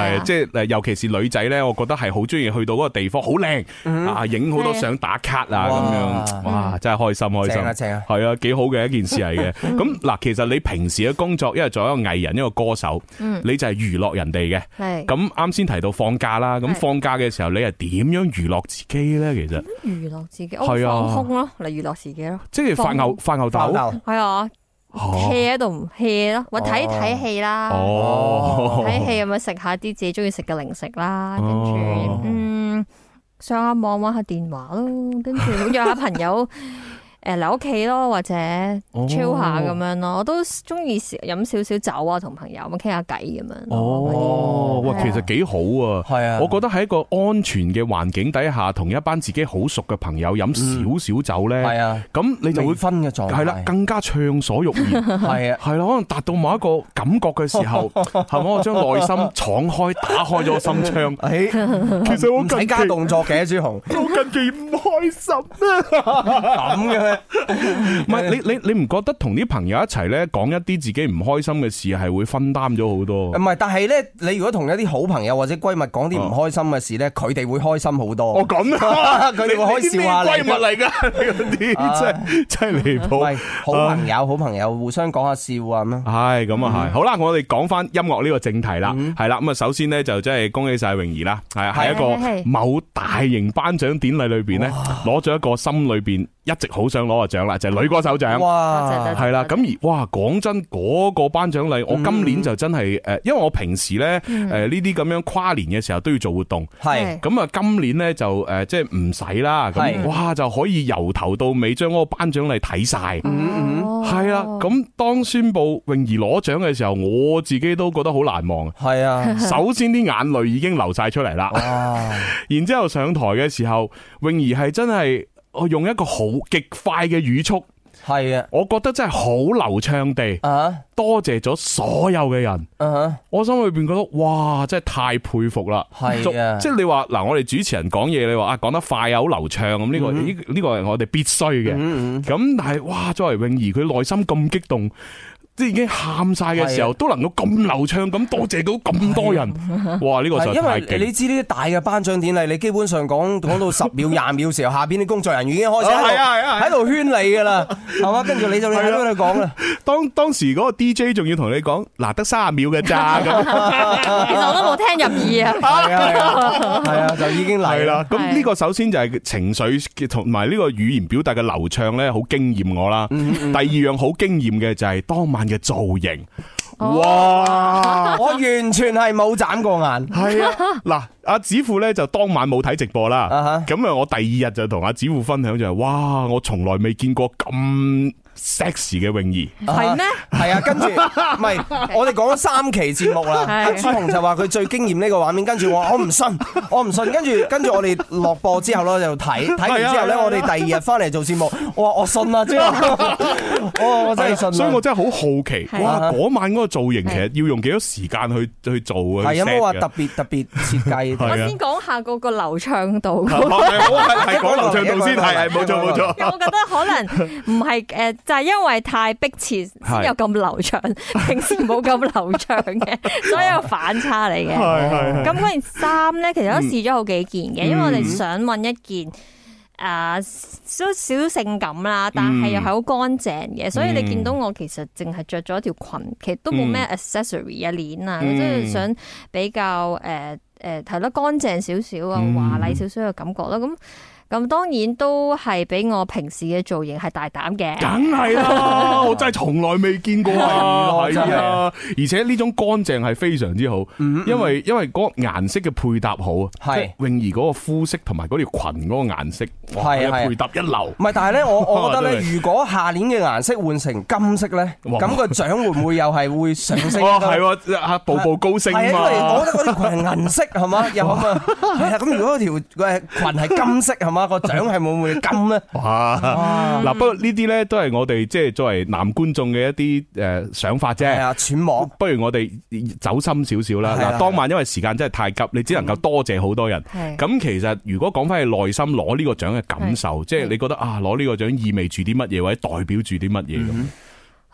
係，即係誒，尤其是女仔咧，我覺得係好中意去到嗰個地方，好靚啊，影好多相打卡啊，咁樣，哇，真係開心開心， 正啊正啊， 係啊，幾好嘅一件事嚟嘅。咁嗱，其實你平時嘅工作，因為作為一個藝人，一個歌手，你就係娛樂人哋嘅。係。咁啱先提到放假啦，咁放假嘅時候，你係點樣娛樂自己咧？其實娛樂自己，係啊，放空咯，嚟娛樂自己咯。 即係發吽發吽豆， 係啊。hea 喺度唔 hea 咯，我睇睇戲啦，睇戲咁樣食下啲自己中意食嘅零食啦，跟住嗯上下網玩下電話咯，跟住約下朋友誒嚟屋企咯，或者 chill 下咁樣咯，我都中意飲少少酒啊，同朋友咁傾下偈咁樣。 哦，哇，其實幾好啊！係啊，我覺得喺一個安全嘅環境底下，同一班自己好熟嘅朋友飲少少酒咧，係啊，咁你就會分嘅狀態， 係啦，更加暢所欲言，係啊，係啦，可能達到某一個感覺嘅時候，係咪我將內心敞開，打開咗心窗？誒，其實我唔使加動作嘅，朱紅， 我近期唔開心啊，咁嘅。唔係你你你唔覺得同啲朋友一齊咧講一啲自己唔開心嘅事係會分擔咗好多？ 唔係，但係咧，你如果同一啲好朋友或者閨蜜講啲唔開心嘅事咧，佢哋會開心好多。 哦，咁啊， 佢哋會可以笑下你。 閨蜜嚟噶，嗰啲真係真係離譜。 好朋友，好朋友互相講下笑啊咁樣。 係咁啊係。好啦，我哋講翻音樂呢個正題啦。係啦，咁啊，首先咧就真係恭喜晒泳兒啦，係啊，喺一個某大型頒獎典禮裏邊咧，攞咗一個心裏邊一直好想攞個獎啦，就係女歌手獎。哇，係啦，咁而哇，講真嗰個頒獎禮，我今年就真係誒，因為我平時咧誒呢啲咁樣跨年嘅時候都要做活動，係咁啊，今年咧就誒即係唔使啦，咁哇就可以由頭到尾將嗰個頒獎禮睇晒，係啦，咁當宣布泳兒攞獎嘅時候，我自己都覺得好難忘。係啊，首先啲眼淚已經流晒出嚟啦，然之後上台嘅時候，泳兒係真係。我用一個好極快嘅語速，係啊，我覺得真係好流暢地，多謝咗所有嘅人。我心裏邊覺得哇，真係太佩服啦。係啊，即係你話嗱，我哋主持人講嘢，你話啊講得快啊，好流暢咁，呢個呢呢個係我哋必須嘅。咁但係哇，作為泳兒，佢內心咁激動。即係已經喊晒嘅時候，都能夠咁流暢咁多謝到咁多人，哇！呢個實在太勁。 因為你知呢啲大嘅頒獎典禮，你基本上講講到十秒、廿秒嘅時候，下邊啲工作人員已經開始喺度圈你噶啦，係嘛？跟住你就喺度講啦。當當時嗰個 D J 仲要同你講，嗱得三十秒嘅咋咁。 其實我都冇聽入耳啊。係啊，係啊，就已經嚟啦。咁呢個首先就係情緒同埋呢個語言表達嘅流暢咧，好驚艷我啦。第二樣好驚艷嘅就係當晚嘅造型，哇！ 我完全係冇眨過眼。 係啊，嗱，阿子富咧就當晚冇睇直播啦。咁啊，我第二日就同阿子富分享就係，哇！我從來未見過咁 sexy 嘅泳兒， 係咩？ 係啊，跟住唔係，我哋講咗三期節目啦。阿朱紅就話佢最驚艷呢個畫面，跟住我我唔信，我唔信。跟住跟住我哋落播之後咧就睇，睇完之後咧我哋第二日翻嚟做節目，我話我信啦，之後我我真係信。 所以我真係好好奇，哇！嗰晚嗰個造型其實要用幾多時間去去做啊？ 係有冇話特別特別設計？ 我先講下嗰個流暢度。 係係講流暢度先，係係冇錯冇錯。 我覺得可能唔係誒。就係因為太迫切先有咁流暢，平時冇咁流暢嘅，所以有反差嚟嘅。咁嗰件衫咧，其實都試咗好幾件嘅，因為我哋想揾一件誒少少性感啦，但係又係好乾淨嘅，所以你見到我其實淨係着咗一條裙，其實都冇咩 accessory 啊鏈啊，即係想比較誒誒係咯乾淨少少啊，華麗少少嘅感覺啦，咁。咁當然都係比我平時嘅造型係大膽嘅， 梗係啦，我真係從來未見過啊！係啊，而且呢種乾淨係非常之好，因為因為嗰個顏色嘅配搭好啊，係泳兒嗰個膚色同埋嗰條裙嗰個顏色，係配搭一流。 唔係，但係咧，我我覺得咧，如果下年嘅顏色換成金色咧，咁個獎會唔會又係會上升？ 哦，係啊，步步高升嘛。 係啊，因為我覺得嗰條裙係銀色係嘛，又咁啊，係啊，咁如果條誒裙係金色係嘛？個獎係會唔會金咧？ 哇！嗱，不過呢啲咧都係我哋即係作為男觀眾嘅一啲誒想法啫。係啊，揣摩。不如我哋走心少少啦。嗱，當晚因為時間真係太急，你只能夠多謝好多人。咁其實如果講翻去內心攞呢個獎嘅感受，即係你覺得啊，攞呢個獎意味住啲乜嘢，或者代表住啲乜嘢咁？ 啊，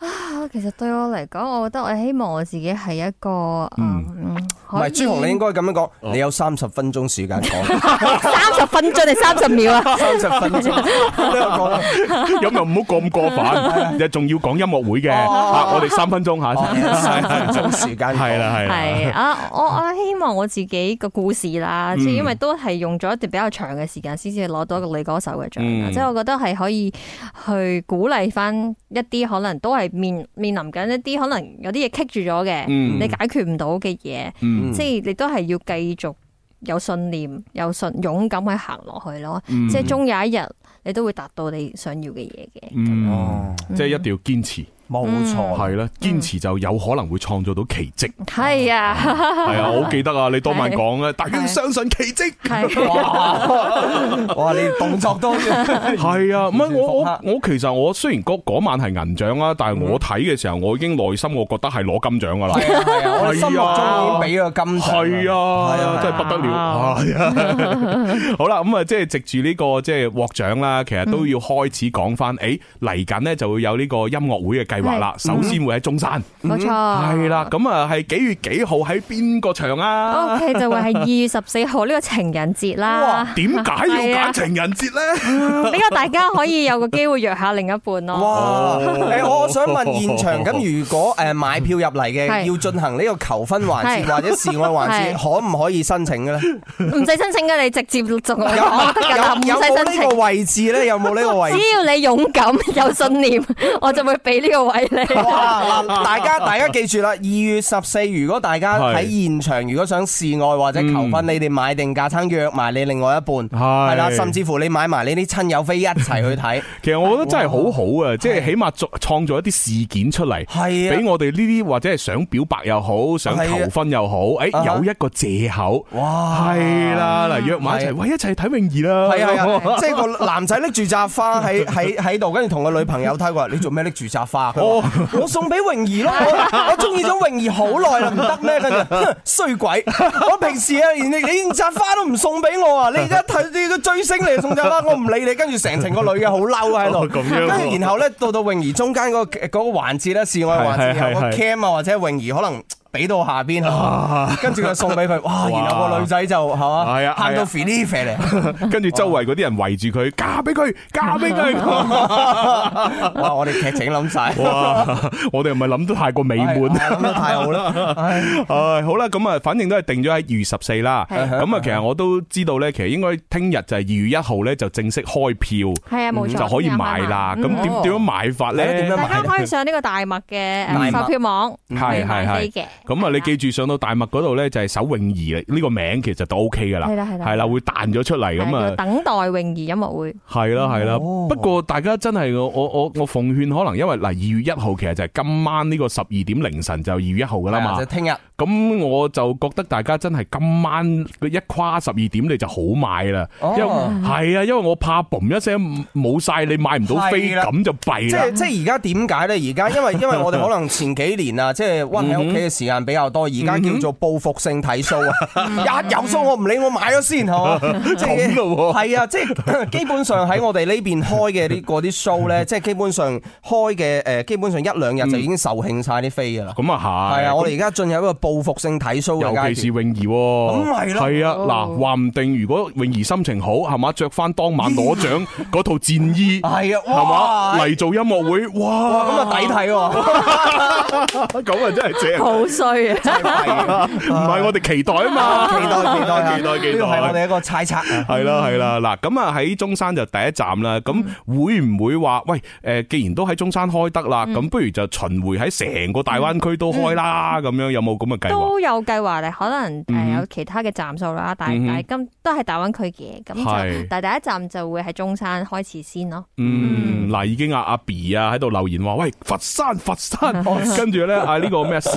其實對我嚟講，我覺得我希望我自己係一個嗯， 唔係朱紅，你應該咁樣講，你有三十分鐘時間講， 三十分鐘定三十秒啊？ 三十分鐘， 咁又唔好咁過分，又仲要講音樂會嘅，我哋三分鐘吓， 三分鐘時間係啦係啦， 係啊，我我希望我自己個故事啦，即係因為都係用咗一段比較長嘅時間先至攞到一個女歌手嘅獎，即係我覺得係可以去鼓勵翻一啲可能都係面面臨緊一啲可能有啲嘢棘住咗嘅，你解決唔到嘅嘢，即係你都係要繼續有信念、有信勇敢去行落去咯，即係終有一日你都會達到你想要嘅嘢嘅。 哦，即係一定要堅持。 冇錯， 係啦，堅持就有可能會創造到奇蹟。 係啊， 係啊，我好記得啊，你當晚講咧，大家要相信奇蹟。 哇，哇，你動作都係啊，唔係我我我其實我雖然嗰嗰晚係銀獎啦，但係我睇嘅時候，我已經內心我覺得係攞金獎噶啦。 係啊，係啊，我心目中已經俾個金獎。 係啊，係啊，真係不得了。係啊，好啦，咁啊，即係藉住呢個即係獲獎啦，其實都要開始講翻，誒嚟緊呢就會有呢個音樂會嘅計計劃啦，首先會喺中山， 冇錯， 係啦，咁啊係幾月幾號喺邊個場啊 ？O K 就會係二月十四號呢個情人節啦。 點解要揀情人節咧？ 比較大家可以有個機會約下另一半咯。 哇！誒，我想問現場咁，如果誒買票入嚟嘅要進行呢個求婚環節或者示愛環節，可唔可以申請嘅咧？ 唔使申請嘅，你直接做我得㗎啦，唔使申請。有冇呢個位置咧？有冇呢個位置？ 只要你勇敢有信念，我就會俾呢個位你。 哇！嗱，大家大家記住啦，二月十四，如果大家喺現場，如果想示愛或者求婚，你哋買定架撐約埋你另外一半，係啦，甚至乎你買埋你啲親友飛一齊去睇。 其實我覺得真係好好啊，即係起碼創造一啲事件出嚟，係俾我哋呢啲或者係想表白又好，想求婚又好，誒有一個借口。哇！係啦，嗱，約埋一齊，喂，一齊睇泳兒啦。 係啊，即係個男仔拎住紮花喺喺喺度，跟住同個女朋友睇過，你做咩拎住紮花？我送俾泳兒咯，我我中意咗泳兒好耐啦，唔得咩？跟住衰鬼！我平時啊，連你你連紮花都唔送俾我啊！你而家睇你個追星嚟送紮花，我唔理你。跟住成程個女嘅好嬲喺度，跟住然後咧到到泳兒中間嗰個嗰個環節咧，示愛環節有個 cam 啊或者泳兒可能俾到下邊，跟住佢送俾佢，哇！然後個女仔就係嘛，喊到 feel feel 嚟， 跟住周圍嗰啲人圍住佢，嫁俾佢，嫁俾佢。 哇！我哋劇情諗晒， 哇！我哋唔係諗得太過美滿， 諗得太好啦。 唉，好啦，咁啊，反正都係定咗喺二月十四啦。咁啊，其實我都知道咧，其實應該聽日就係二月一號咧，就正式開票， 係啊，冇錯， 就可以買啦。咁點點樣買法咧？ 大家可以上呢個大麥嘅售票網去買飛嘅。 咁啊，你記住上到大麥嗰度咧，就係搜泳兒呢個名，其實都 O K 噶啦，係啦係啦，係啦，會彈咗出嚟咁啊。 等待泳兒音樂會係啦係啦，不過大家真係我我我我奉勸，可能因為嗱二月一號其實就係今晚呢個十二點凌晨就二月一號噶啦嘛， 就聽日。 咁我就覺得大家真係今晚一跨十二點你就好買啦，因為係啊，因為我怕嘣一聲冇晒，你買唔到飛，咁就弊啦。 即係即係而家點解咧？而家因為因為我哋可能前幾年啊，即係溫喺屋企嘅時間比較多，而家叫做報復性睇 show 啊，一有 show 我唔理，我買咗先，係嘛？即係係啊，即係基本上喺我哋呢邊開嘅啲嗰啲 show 咧，即係基本上開嘅誒，基本上一兩日就已經售罄晒啲飛噶啦。咁啊係，係啊，我哋而家進入一個報復性睇 show 嘅階段， 尤其是泳兒，咁係咯，係啊，嗱，話唔定如果泳兒心情好，係嘛，着翻當晚攞獎嗰套戰衣，係啊，係嘛，嚟做音樂會，哇， 咁啊抵睇喎， 咁啊真係正， 好衰啊， 唔係我哋期待啊嘛， 期待期待期待期待， 呢個係我哋一個猜測， 係啦係啦，嗱，咁啊喺中山就第一站啦，咁會唔會話喂誒，既然都喺中山開得啦，咁不如就巡迴喺成個大灣區都開啦，咁樣有冇咁嘅計劃？ 都有計劃咧，可能誒有其他嘅站數啦，但係但係今都係大灣區嘅，咁就但係第一站就會喺中山開始先咯。 嗯，嗱，已經阿阿 B 啊喺度留言話，喂，佛山佛山，跟住咧啊呢個咩啊 C C 就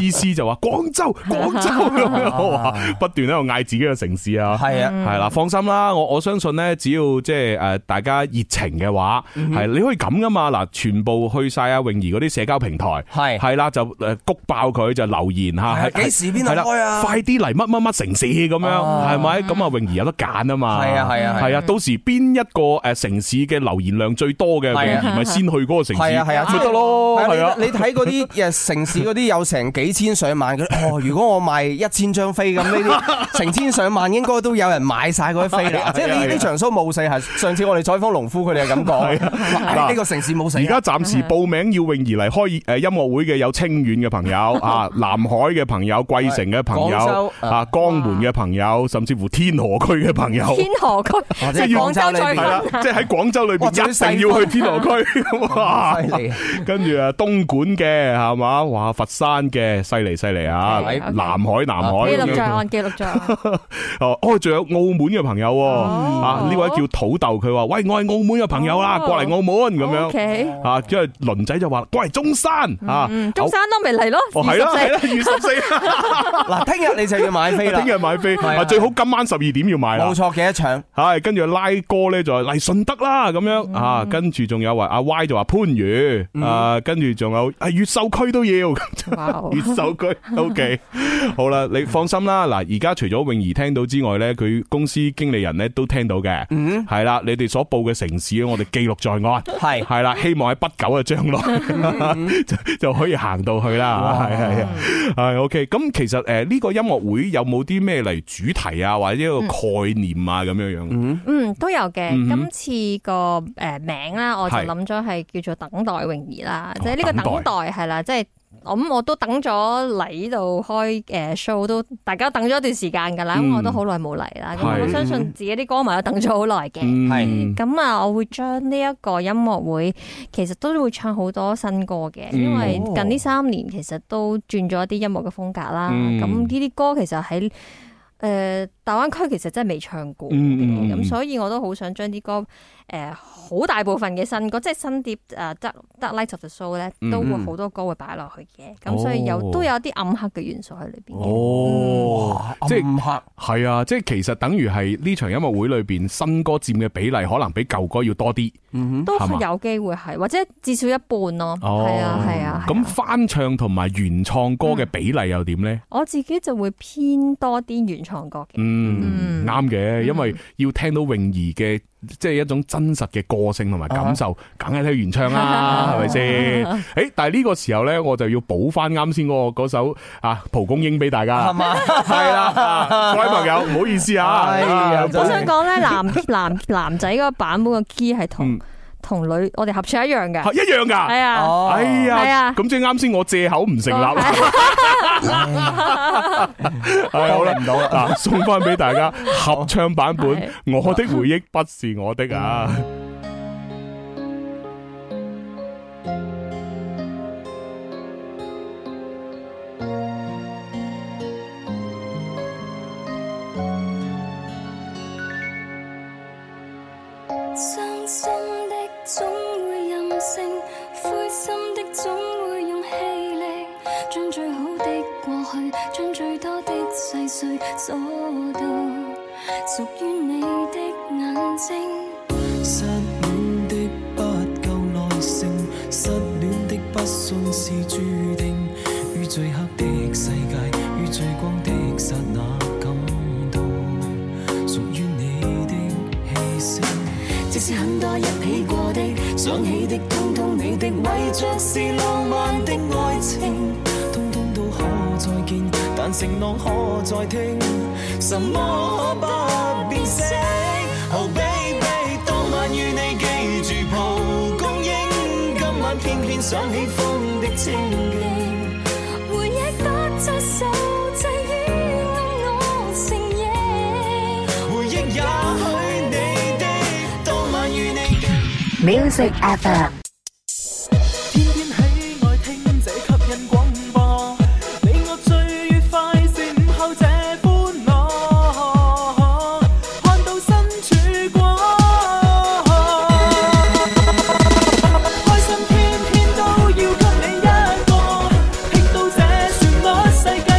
話廣州廣州咁樣，不斷喺度嗌自己嘅城市啊。 係啊， 係啦，放心啦，我我相信咧，只要即係誒大家熱情嘅話，係你可以咁噶嘛。嗱，全部去晒阿泳兒嗰啲社交平台，係係啦，就誒谷爆佢就留言吓， 幾時邊度開啊？ 快啲嚟乜乜乜城市咁樣，係咪？咁啊泳兒有得揀啊嘛。係啊係啊係啊，到時邊一個誒城市嘅留言量最多嘅泳兒咪先去嗰個城市，係啊係啊，咪得咯。係啊， 你睇嗰啲誒城市嗰啲有成幾千上萬嘅，哦，如果我賣一千張飛咁，呢啲成千上萬應該都有人買晒嗰啲飛啦。即係呢呢場 show 冇死，係上次我哋採訪農夫佢哋係咁講，呢個城市冇死。 而家暫時報名要泳兒嚟開誒音樂會嘅有清遠嘅朋友啊，南海嘅朋友，貴城嘅朋友啊，江門嘅朋友，甚至乎天河區嘅朋友。 天河區即係廣州再分，即係喺廣州裏邊一定要去天河區。哇！犀利。跟住啊，東莞嘅係嘛，哇，佛山嘅犀利犀利啊，南海南海。 記錄在案，記錄在案。 哦，仲有澳門嘅朋友啊，呢位叫土豆，佢話：喂，我係澳門嘅朋友啦，過嚟澳門咁樣。啊，因為輪仔就話過嚟中山啊， 中山都未嚟咯。 哦，係啦係啦，二十四。 嗱，聽日你就要買飛啦， 聽日買飛，啊，最好今晚十二點要買啦。 冇錯，記得搶。係， 跟住拉哥咧就嚟順德啦，咁樣啊，跟住仲有話阿 Y 就話番禺，啊，跟住仲有啊越秀區都要，越秀區 OK。好啦，你放心啦，嗱，而家除咗泳兒聽到之外咧，佢公司經理人咧都聽到嘅，係啦，你哋所報嘅城市我哋記錄在案，係係啦，希望喺不久嘅將來就就可以行到去啦，係係係 OK。咁其實誒呢個音樂會有冇啲咩嚟主題啊，或者一個概念啊咁樣樣？ 嗯嗯，都有嘅。今次個誒名啦，我就諗咗係叫做等待泳兒啦，即係呢個等待係啦，即係。咁我都等咗嚟呢度開誒 show， 都大家等咗一段時間噶啦，咁、嗯、我都好耐冇嚟啦。咁我相信自己啲歌迷都等咗好耐嘅。係咁啊，我會將呢一個音樂會，其實都會唱好多新歌嘅，嗯、因為近呢三年其實都轉咗一啲音樂嘅風格啦。咁呢啲歌其實喺誒大灣區其實真係未唱過嘅，咁、嗯、所以我都好想將啲歌誒好、呃、大部分嘅新歌，即係新碟誒《Dark Dark Night of the Soul》咧，都會好多歌會擺落去嘅，咁、嗯、所以有、哦、都有啲暗黑嘅元素喺裏邊嘅。 哦，嗯、即係暗黑係啊！即係其實等於係呢場音樂會裏邊新歌佔嘅比例，可能比舊歌要多啲。 嗯、都有機會係，或者至少一半咯。 哦， 係啊，係啊。 咁翻唱同埋原創歌嘅比例又點咧？ 嗯、我自己就會偏多啲原創歌嘅。 嗯，啱嘅、嗯，因為要聽到泳兒嘅即係一種真實嘅個性同埋感受，梗係聽原唱啦，係咪先？誒，但係呢個時候咧，我就要補翻啱先嗰個嗰首啊蒲公英俾大家，係嘛？係啦，各位朋友唔好意思啊， 我想講咧，男男男仔嗰個版本嘅 key 係同。同女我哋合唱一樣嘅， 一樣噶， 係啊， 哎呀， 係啊， 咁即係啱先我借口唔成立，係好啦，唔到啦，嗱，送翻俾大家合唱版本，我的回憶不是我的啊。 傷心的總會任性，灰心的總會用氣力，將最好的過去，將最多的細碎鎖到屬於你的眼睛。 失戀的不夠耐性，失戀的不信是注定，於最黑的世界，於最光的剎那感到屬於你的氣息。即使很多一起過的，想起的，通通你的，為着是浪漫的愛情，通通都可再見，但承諾可再聽，什麼可不變色 ？Oh baby， 當晚與你記住蒲公英，今晚偏偏想起風的清勁，回憶不再受制於暗我承認，回憶也許。 Music F M。 天天喜愛聽這吸引廣播，你我最愉快是午後這歡樂，看到身曙光，開心天天都要給你一個，聽到這旋律世界。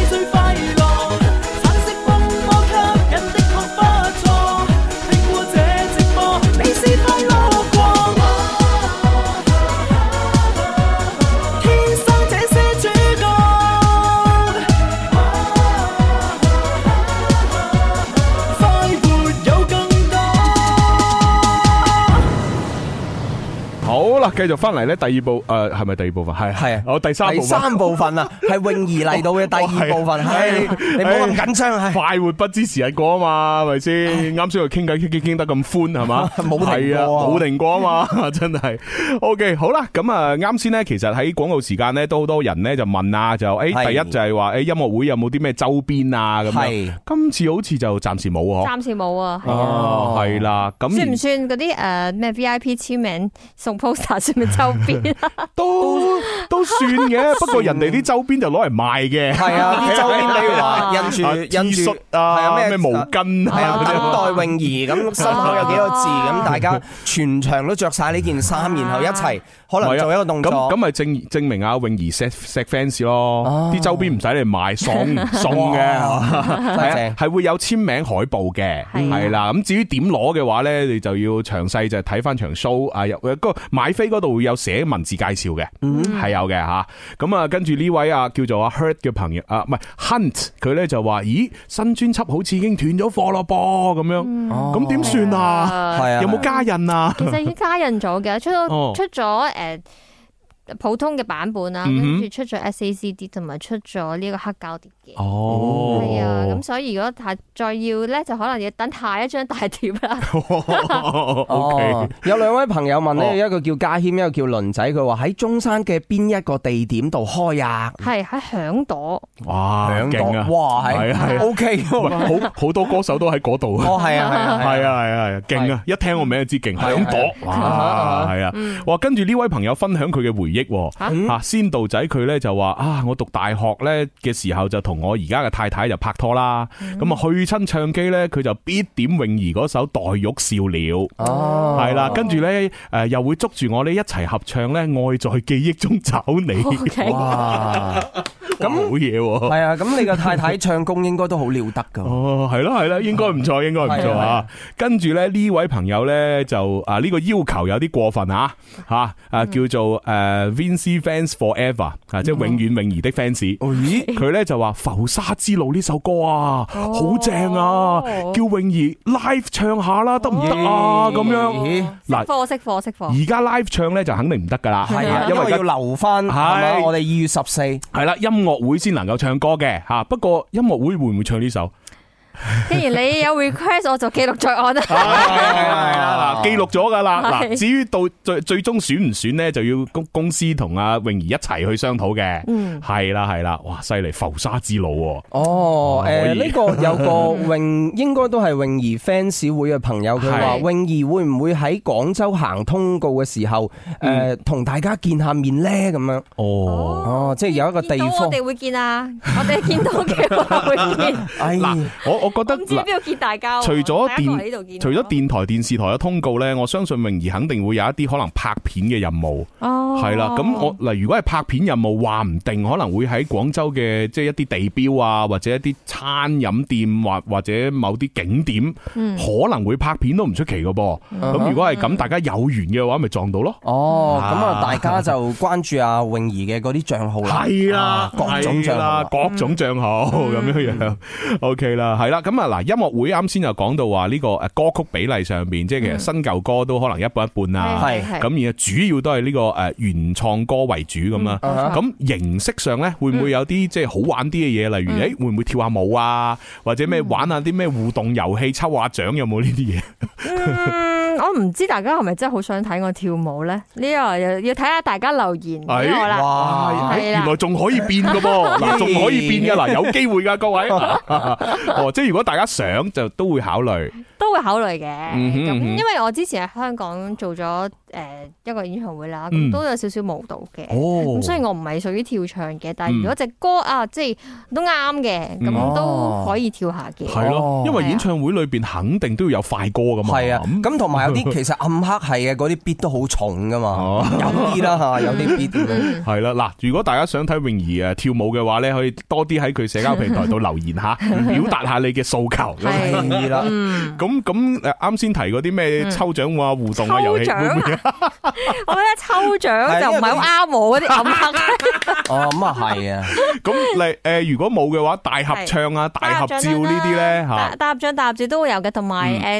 啦，繼續翻嚟咧，第二部誒係咪第二部分？係係，我第三部分。第三部分啊，係泳兒嚟到嘅第二部分。係你唔好咁緊張，係快活不知時日過啊嘛，係咪先？啱先又傾偈傾傾傾得咁歡係嘛？ 冇停過， 冇停過啊嘛，真係。OK，好啦，咁啊啱先咧，其實喺廣告時間咧，都好多人咧就問啊，就誒第一就係話誒音樂會有冇啲咩周邊啊咁樣。今次好似就暫時冇嗬。 暫時冇啊。 哦，係啦，咁算唔算嗰啲誒咩 V I P 簽名送 poster 算唔算周邊？ 都都算嘅，不過人哋啲周邊就攞嚟賣嘅。 係啊，啲周邊比如話印住印住啊咩咩毛巾啊， 等待泳兒咁心口有幾個字咁，大家全場都着晒呢件衫，然後一齊可能做一個動作。 咁咁咪證證明阿泳兒錫錫 fans 咯，啲周邊唔使你買，送送嘅，係啊，係會有簽名海報嘅，係啦。咁至於點攞嘅話咧，你就要詳細就睇翻場 show 啊，有嗰個買飛嗰度會有寫文字介紹嘅，係有嘅吓。咁啊，跟住呢位啊叫做阿 Hurt 嘅朋友啊，唔係 Hunt，佢咧就話：咦，新專輯好似已經斷咗貨咯噃，咁樣，咁點算啊？係啊，有冇加印啊？ 其實已經加印咗嘅，出咗出咗誒。普通嘅版本啦，跟住出咗 S A C D 同埋出咗呢個黑膠碟嘅。 哦， 係啊，咁所以如果太再要咧，就可能要等下一張大碟啦。 哦，有兩位朋友問咧，一個叫嘉謙，一個叫倫仔，佢話喺中山嘅邊一個地點度開啊？ 係喺響朵。 哇， 勁啊！哇，係係 O K， 好好多歌手都喺嗰度。 哦，係啊，係啊， 係啊，係啊，勁啊！一聽我名就知勁，響朵。哇，係啊，哇！跟住呢位朋友分享佢嘅回憶。吓，先道仔佢咧就話啊，我讀大學咧嘅時候就同我而家嘅太太就拍拖啦，咁啊去親唱機咧，佢就必點泳兒嗰首《黛玉笑了》，哦，係啦，跟住咧誒又會捉住我咧一齊合唱咧《愛在記憶中找你》。哇，咁好嘢喎！ 係啊，咁你個太太唱功應該都好了得噶。 哦，係咯係咯，應該唔錯，應該唔錯啊。跟住咧呢位朋友咧就啊呢個要求有啲過分啊吓啊叫做誒。Vincy Fans Forever 啊，即係永遠泳兒的 fans。佢咧就話《浮沙之路》呢首歌啊，好正啊，叫泳兒 live 唱下啦，得唔得啊？咁樣嗱，課識課識課。 而家 live 唱咧就肯定唔得噶啦， 係啊，因為要留翻係我哋二月十四係啦，音樂會先能夠唱歌嘅吓。不過音樂會會唔會唱呢首？ 既然你有 request，我就記錄在案啦。係啊，嗱，記錄咗噶啦。嗱，至於到最最終選唔選咧，就要公公司同阿泳兒一齊去商討嘅。嗯，係啦係啦，哇，犀利，浮沙之路。 哦，誒，呢個有個泳，應該都係泳兒 fans 會嘅朋友，佢話泳兒會唔會喺廣州行通告嘅時候，誒，同大家見下面咧？咁樣。哦，哦，即係有一個地方， 我哋會見啊，我哋見到嘅話會見。 嗱，我。我覺得唔知邊度見大家， 除咗電，除咗電台、電視台嘅通告咧，我相信泳兒肯定會有一啲可能拍片嘅任務。哦，係啦，咁我嗱，如果係拍片任務，話唔定可能會喺廣州嘅即係一啲地標啊，或者一啲餐飲店或或者某啲景點，嗯、可能會拍片都唔出奇噶噃。咁、嗯、如果係咁，大家有緣嘅話，咪撞到咯。 哦，咁啊，大家就關注阿泳兒嘅嗰啲賬號啦。 係啊，各種賬號，各種賬號咁樣樣。O K 啦，係啦。咁啊嗱，音樂會啱先就講到話呢個誒歌曲比例上邊，即係其實新舊歌都可能一半一半啊。係係。咁而主要都係呢個誒原創歌為主咁啦。咁形式上咧，會唔會有啲即係好玩啲嘅嘢？例如誒，會唔會跳下舞啊？或者咩玩下啲咩互動遊戲、抽下獎？有冇呢啲嘢？ 嗯，我唔知大家係咪真係好想睇我跳舞咧？呢個要要睇下大家留言俾我啦。 哇！原來仲可以變噶噃，嗱，仲可以變噶，嗱，有機會噶，各位。哦，即係如果大家想就都會考慮， 都會考慮嘅。咁、嗯、因為我之前喺香港做咗誒一個演唱會啦，咁、嗯、都有少少舞蹈嘅。咁雖然我唔係屬於跳唱嘅，但係如果隻歌啊，即係都啱嘅，咁、嗯、都可以跳下嘅。係咯、哦， 因為演唱會裏邊肯定都要有快歌噶嘛。係啊， 咁同埋有啲其實暗黑係嘅，嗰啲 beat 都好重噶嘛。哦、有啲啦吓，有啲 beat 係啦。嗱，如果大家想睇泳兒誒跳舞嘅話咧，可以多啲喺佢社交平台度留言下，表達下你嘅訴求。 係啦， 咁咁誒，啱先提嗰啲咩抽獎啊、互動啊遊戲，會唔會？ 我覺得抽獎就唔係好啱我嗰啲暗黑。 哦，咁啊係啊。咁你誒，如果冇嘅話，大合唱啊、大合照呢啲咧吓， 大合唱、大合照都會有嘅，同埋誒。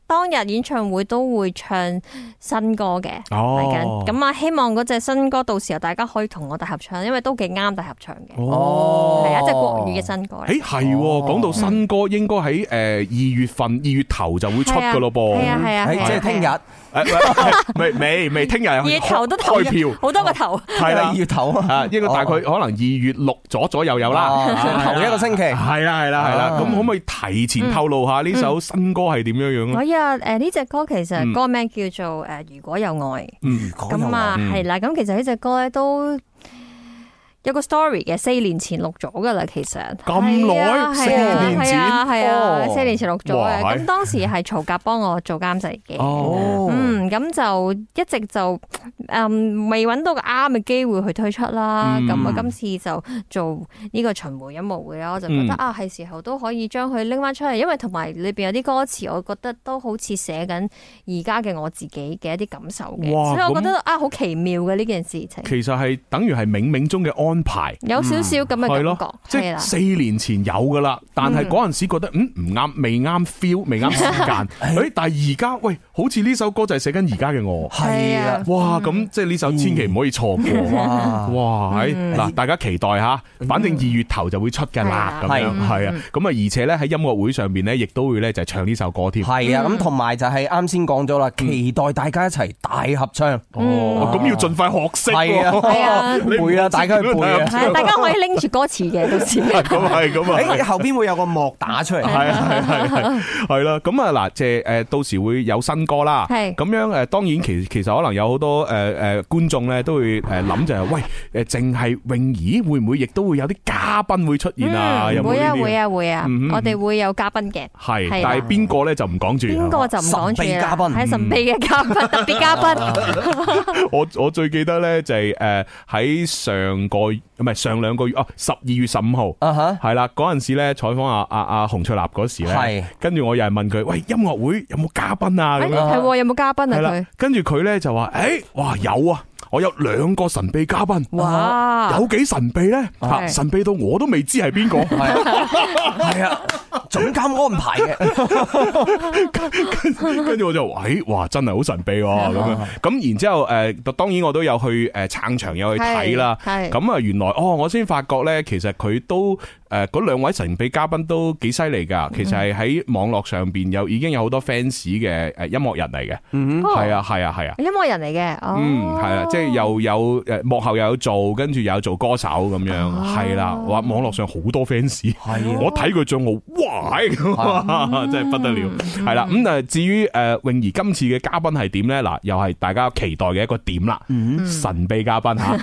當日演唱會都會唱新歌嘅， 哦， 嚟緊。咁啊，希望嗰隻新歌到時候大家可以同我哋合唱，因為都幾啱大合唱嘅。 哦， 係一隻國語嘅新歌。 誒係，講到新歌應該喺誒二月份二月頭就會出噶咯噃。 係啊係啊， 即係聽日。 未未未，聽日二月頭都投開票， 好多個頭。 係啦， 二月頭啊， 應該大概可能二月六左左右有啦， 頭一個星期。 係啦係啦係啦，咁可唔可以提前透露下呢首新歌係點樣樣咧？ 可以啊，誒呢隻歌其實歌名叫做誒如果有愛。 嗯， 咁啊係啦，咁其實呢隻歌咧都有個 story 嘅，四年前錄咗噶啦，其實咁耐，四年前， 係啊，四年前錄咗嘅。咁當時係曹格幫我做監製嘅，嗯，咁就一直就誒未揾到個啱嘅機會去推出啦。咁啊，今次就做呢個巡迴音樂會啦，我就覺得啊，係時候都可以將佢拎翻出嚟，因為同埋裏邊有啲歌詞，我覺得都好似寫緊而家嘅我自己嘅一啲感受嘅，所以我覺得啊，好奇妙嘅呢件事情。 其實係等於係冥冥中嘅安排， 有少少咁嘅感覺， 即係四年前有噶啦，但係嗰陣時覺得嗯唔啱，未啱 feel， 未啱時間。誒，但係而家喂，好似呢首歌就係寫緊而家嘅我， 係啊， 哇！咁即係呢首千祈唔可以錯過，哇！嗱，大家期待吓，反正二月頭就會出噶啦，咁樣係啊。咁啊，而且咧喺音樂會上邊咧，亦都會咧就係唱呢首歌添。 係啊，咁同埋就係啱先講咗啦，期待大家一齊大合唱。 哦，咁要盡快學識， 係啊，係啊，背啊，大家去背啊。 係，大家可以拎住歌詞嘅，到時。 咁係咁啊！ 誒，後邊會有個幕打出嚟。 係係係係係啦。咁啊嗱，即係誒，到時會有新歌啦。係咁樣誒，當然其其實可能有好多誒誒觀眾咧都會誒諗就係喂誒，淨係泳兒會唔會亦都會有啲嘉賓會出現啊？ 會啊會啊會啊！我哋會有嘉賓嘅。 係，但係邊個咧就唔講住。邊個就唔講住啦。 嘉賓係神秘嘅嘉賓，特別嘉賓。 我我最記得咧就係誒喺上個唔係上兩個月哦，十二月十五號係啦，嗰陣時咧採訪阿阿阿洪卓立嗰時咧，跟住我又係問佢，喂，音樂會有冇嘉賓啊？咁樣係有冇嘉賓啊？佢跟住佢咧就話，誒，哇有啊！我有兩個神秘嘉賓，哇，有幾神秘咧？吓，神秘到我都未知係邊個。係啊，總監安排嘅。跟住我就話，誒，哇，真係好神秘咁樣。咁然之後誒，當然我都有去誒撐場，有去睇啦。咁啊，原來哦，我先發覺咧，其實佢都誒嗰兩位神秘嘉賓都幾犀利噶。其實係喺網絡上邊有已經有好多 fans 嘅誒音樂人嚟嘅。嗯，係啊，係啊，係啊， 音樂人嚟嘅。嗯， 係啦，即係又有誒幕後又有做，跟住又有做歌手咁樣，係啦。話網絡上好多 fans，我睇佢賬號，哇，真係不得了。係啦，咁啊至於誒泳兒今次嘅嘉賓係點咧？嗱，又係大家期待嘅一個點啦。神秘嘉賓吓，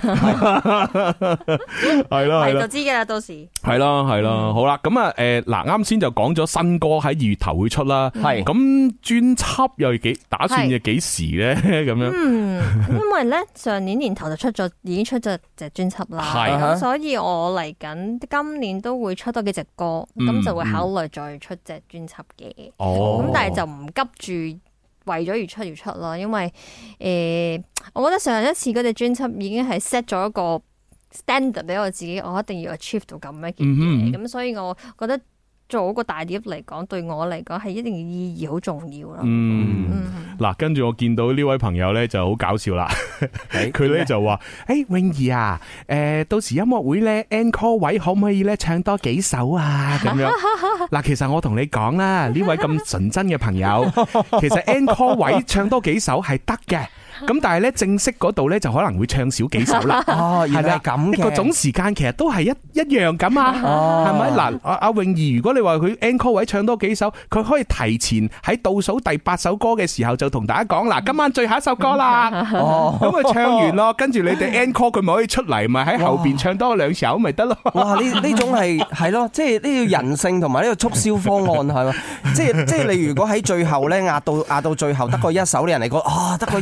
係啦係啦， 就知噶啦，到時係啦係啦。好啦，咁啊誒嗱，啱先就講咗新歌喺二月頭會出啦。係咁專輯又幾打算嘅幾時咧？咁樣，嗯， 因為咧上年年頭就出咗，已經出咗隻專輯啦。係咁，所以我嚟緊今年都會出多幾隻歌，咁就會考慮再出隻專輯嘅。哦，咁但係就唔急住為咗而出而出咯，因為誒，我覺得上一次嗰隻專輯已經係 set 咗一個 standard 俾我自己，我一定要 achieve 到咁一件嘢，咁所以我覺得做一個大碟嚟講，對我嚟講係一定嘅意義好重要啦。嗯， 嗱，跟住我見到呢位朋友咧就好搞笑啦，佢咧就話：誒，泳兒啊，誒，到時音樂會咧 encore 位可唔可以咧唱多幾首啊？咁樣嗱，其實我同你講啦，呢位咁純真嘅朋友，其實 encore 位唱多幾首係得嘅。咁但係咧正式嗰度咧就可能會唱少幾首啦。哦，原來係咁嘅。個總時間其實都係一一樣咁啊。哦，係咪？嗱，阿阿泳兒，如果你話佢 encore 位唱多幾首，佢可以提前喺倒數第八首歌嘅時候就同大家講，嗱，今晚最後一首歌啦。哦，咁佢唱完咯，跟住你哋 encore 佢咪可以出嚟，咪喺後邊唱多兩首咪得咯。 哇！呢呢種係係咯，即係呢個人性同埋呢個促銷方案係嘛？即係即係你如果喺最後咧壓到壓到最後得個一首，啲人嚟講啊，得個一首。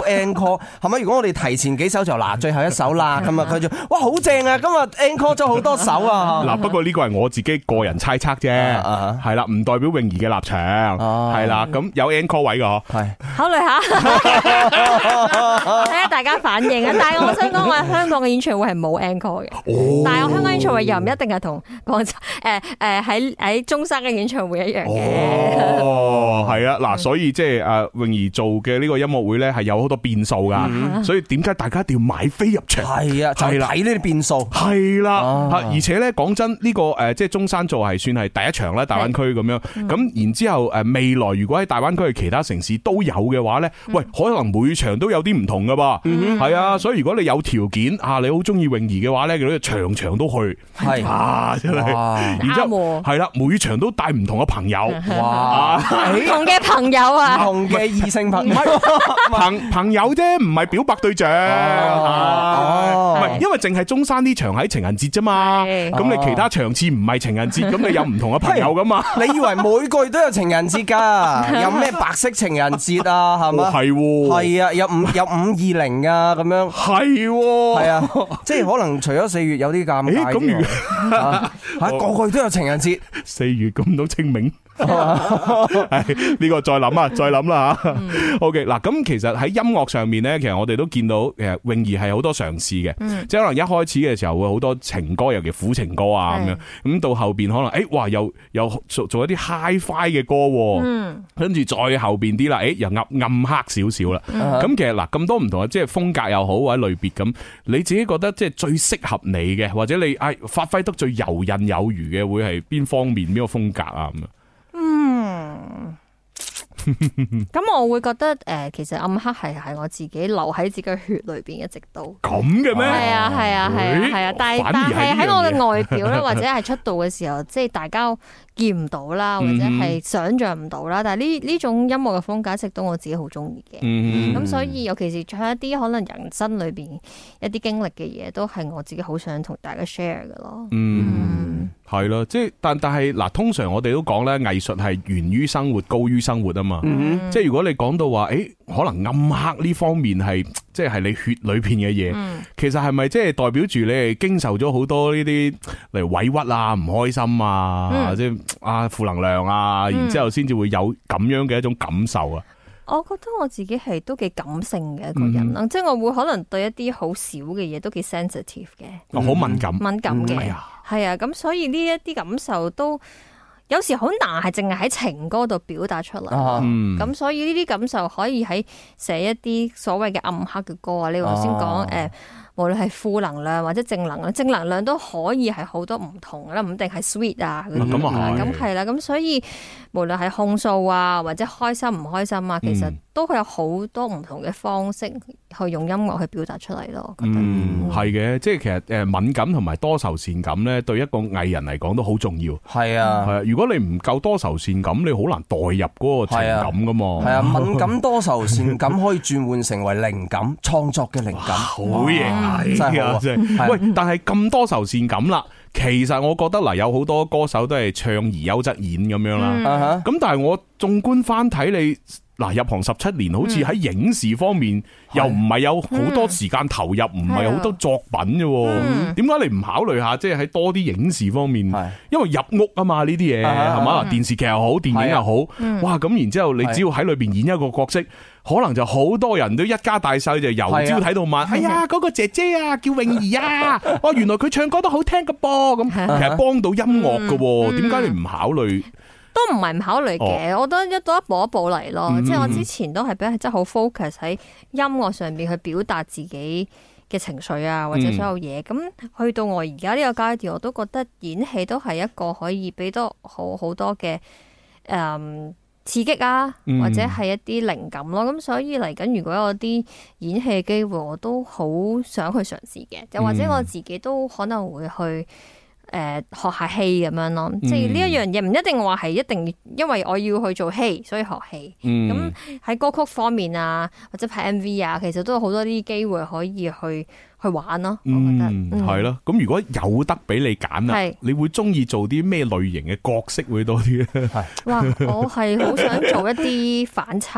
encore 係咪？如果我哋提前幾首就嗱最後一首啦，咁啊佢就哇好正啊！今日 encore 咗好多首啊！ 嗱，不過呢個係我自己個人猜測啫，係啦，唔代表泳兒嘅立場，係啦，咁有 encore 位㗎，係考慮下，睇下大家反應啊！但係我想講，我香港嘅演唱會係冇 encore 嘅，但係我香港演唱會又唔一定係同廣州誒誒喺喺中山嘅演唱會一樣嘅。 哦，係啊，嗱，所以即係誒泳兒做嘅呢個音樂會咧，係有好多變數噶，所以點解大家一定要買飛入場？係啊，就係睇呢啲變數。係啦，而且咧講真，呢個誒即係中山做係算係第一場啦，大灣區咁樣。咁然之後誒未來如果喺大灣區嘅其他城市都有嘅話咧，喂，可能每場都有啲唔同噶噃。係啊，所以如果你有條件啊，你好中意泳兒嘅話咧，你場場都去。係啊，真係。然之後係啦，每場都帶唔同嘅朋友。哇， 唔同嘅朋友啊， 唔同嘅異性朋友， 朋朋友啫，唔係表白對象。唔係，因為淨係中山呢場喺情人節啫嘛。咁你其他場次唔係情人節，咁你有唔同嘅朋友噶嘛？ 你以為每個月都有情人節㗎？有咩白色情人節啊？係咪？ 係喎。係啊，有五有五二零啊，咁樣。係喎。係啊，即係可能除咗四月有啲尷尬。咁如嚇個個月都有情人節， 四月咁都清明。係呢個再諗啊，再諗啦吓。OK 嗱，咁其實喺音樂上面咧，其實我哋都見到，其實泳兒係好多嘗試嘅，嗯、即係可能一開始嘅時候會好多情歌，尤其苦情歌啊咁樣，咁到後邊可能誒，哇，又又做做一啲 Hi-Fi 嘅歌，嗯，跟住再後邊啲啦，誒，又暗暗黑少少啦。咁、嗯、其實嗱，咁多唔同嘅即係風格又好或者類別咁，你自己覺得即係最適合你嘅，或者你誒發揮得最游刃有餘嘅，會係邊方面邊個風格啊咁啊？ 嗯，咁我會覺得誒、呃，其實暗黑係係我自己留喺自己嘅血裏邊一直都咁嘅咩？ 係啊係啊係啊係啊，但係但係喺我嘅外表咧，或者係出道嘅時候，即係大家見唔到啦，或者係想象唔到啦。但係呢呢種音樂嘅風格一直都我自己好中意嘅。咁、嗯、所以尤其是唱一啲可能人生裏邊一啲經歷嘅嘢，都係我自己好想同大家 share 嘅咯。 嗯，係咯、嗯，即係但但係嗱，通常我哋都講咧，藝術係源於生活，高於生活啊嘛。嗯、即係如果你講到話，誒、欸，可能暗黑呢方面係即係係你血裏邊嘅嘢，嗯、其實係咪即係代表住你係經受咗好多呢啲例如委屈啊、唔開心啊，嗯、即係啊負能量啊，然之後先至會有咁樣嘅一種感受啊？ 我覺得我自己係都幾感性嘅一個人啦，嗯、即係我會可能對一啲好少嘅嘢都幾 sensitive 嘅， 好、嗯、敏感， 敏感嘅，係、 嗯、 啊，咁所以呢一啲感受都有時好難係淨係喺情歌度表達出嚟，咁、嗯、所以呢啲感受可以喺寫一啲所謂嘅暗黑嘅歌啊，你頭先講誒。無論係負能量或者正能量，正能量都可以係好多唔同啦，唔一定係 sweet 啊嗰啲啊，咁係啦，咁所以無論係控訴啊或者開心唔開心啊，其實都會有好多唔同嘅方式去用音樂去表達出嚟咯。 嗯，係嘅，即係其實誒敏感同埋多愁善感咧，對一個藝人嚟講都好重要。係啊，係啊，如果你唔夠多愁善感，你好難代入嗰個情感噶嘛。係啊， 敏感多愁善感可以轉換成為靈感，創作嘅靈感， 好嘢。係啊，真係喂！但係咁多愁善感啦，其實我覺得嗱，有好多歌手都係唱而優則演咁樣啦。咁、嗯、但係我縱觀翻睇你嗱，入行十七年，好似喺影視方面、嗯、又唔係有好多時間投入，唔係好多作品啫。點解、嗯、你唔考慮下，即係喺多啲影視方面？是因為入屋啊嘛，呢啲嘢係嘛，電視劇又好，電影又好，嗯、哇！咁然之後，你只要喺裏邊演一個角色。可能就好多人都一家大細就由朝睇到晚，哎呀嗰個姐姐啊叫泳兒啊，哦原來佢唱歌都好聽噶噃，咁其實幫到音樂噶，點解你唔考慮？ 都唔係唔考慮嘅，我覺得一到一步一步嚟咯。即係我之前都係比較真係好 focus 喺音樂上邊去表達自己嘅情緒啊，或者所有嘢。咁去到我而家呢個階段，我都覺得演戲都係一個可以俾到好好多嘅誒。刺激啊，或者係一啲靈感咯，咁、嗯、所以嚟緊如果有啲演戲嘅機會，我都好想去嘗試嘅，又或者我自己都可能會去誒、呃、學下戲咁樣咯，嗯、即係呢一樣嘢唔一定話係一定因為我要去做戲所以學戲，咁喺、嗯、歌曲方面啊，或者拍 M V 啊，其實都有好多啲機會可以去。去玩咯，我覺得係咯。咁、嗯、如果有得俾你揀啊，是你會中意做啲咩類型嘅角色會多啲咧？係哇， 我係好想做一啲反差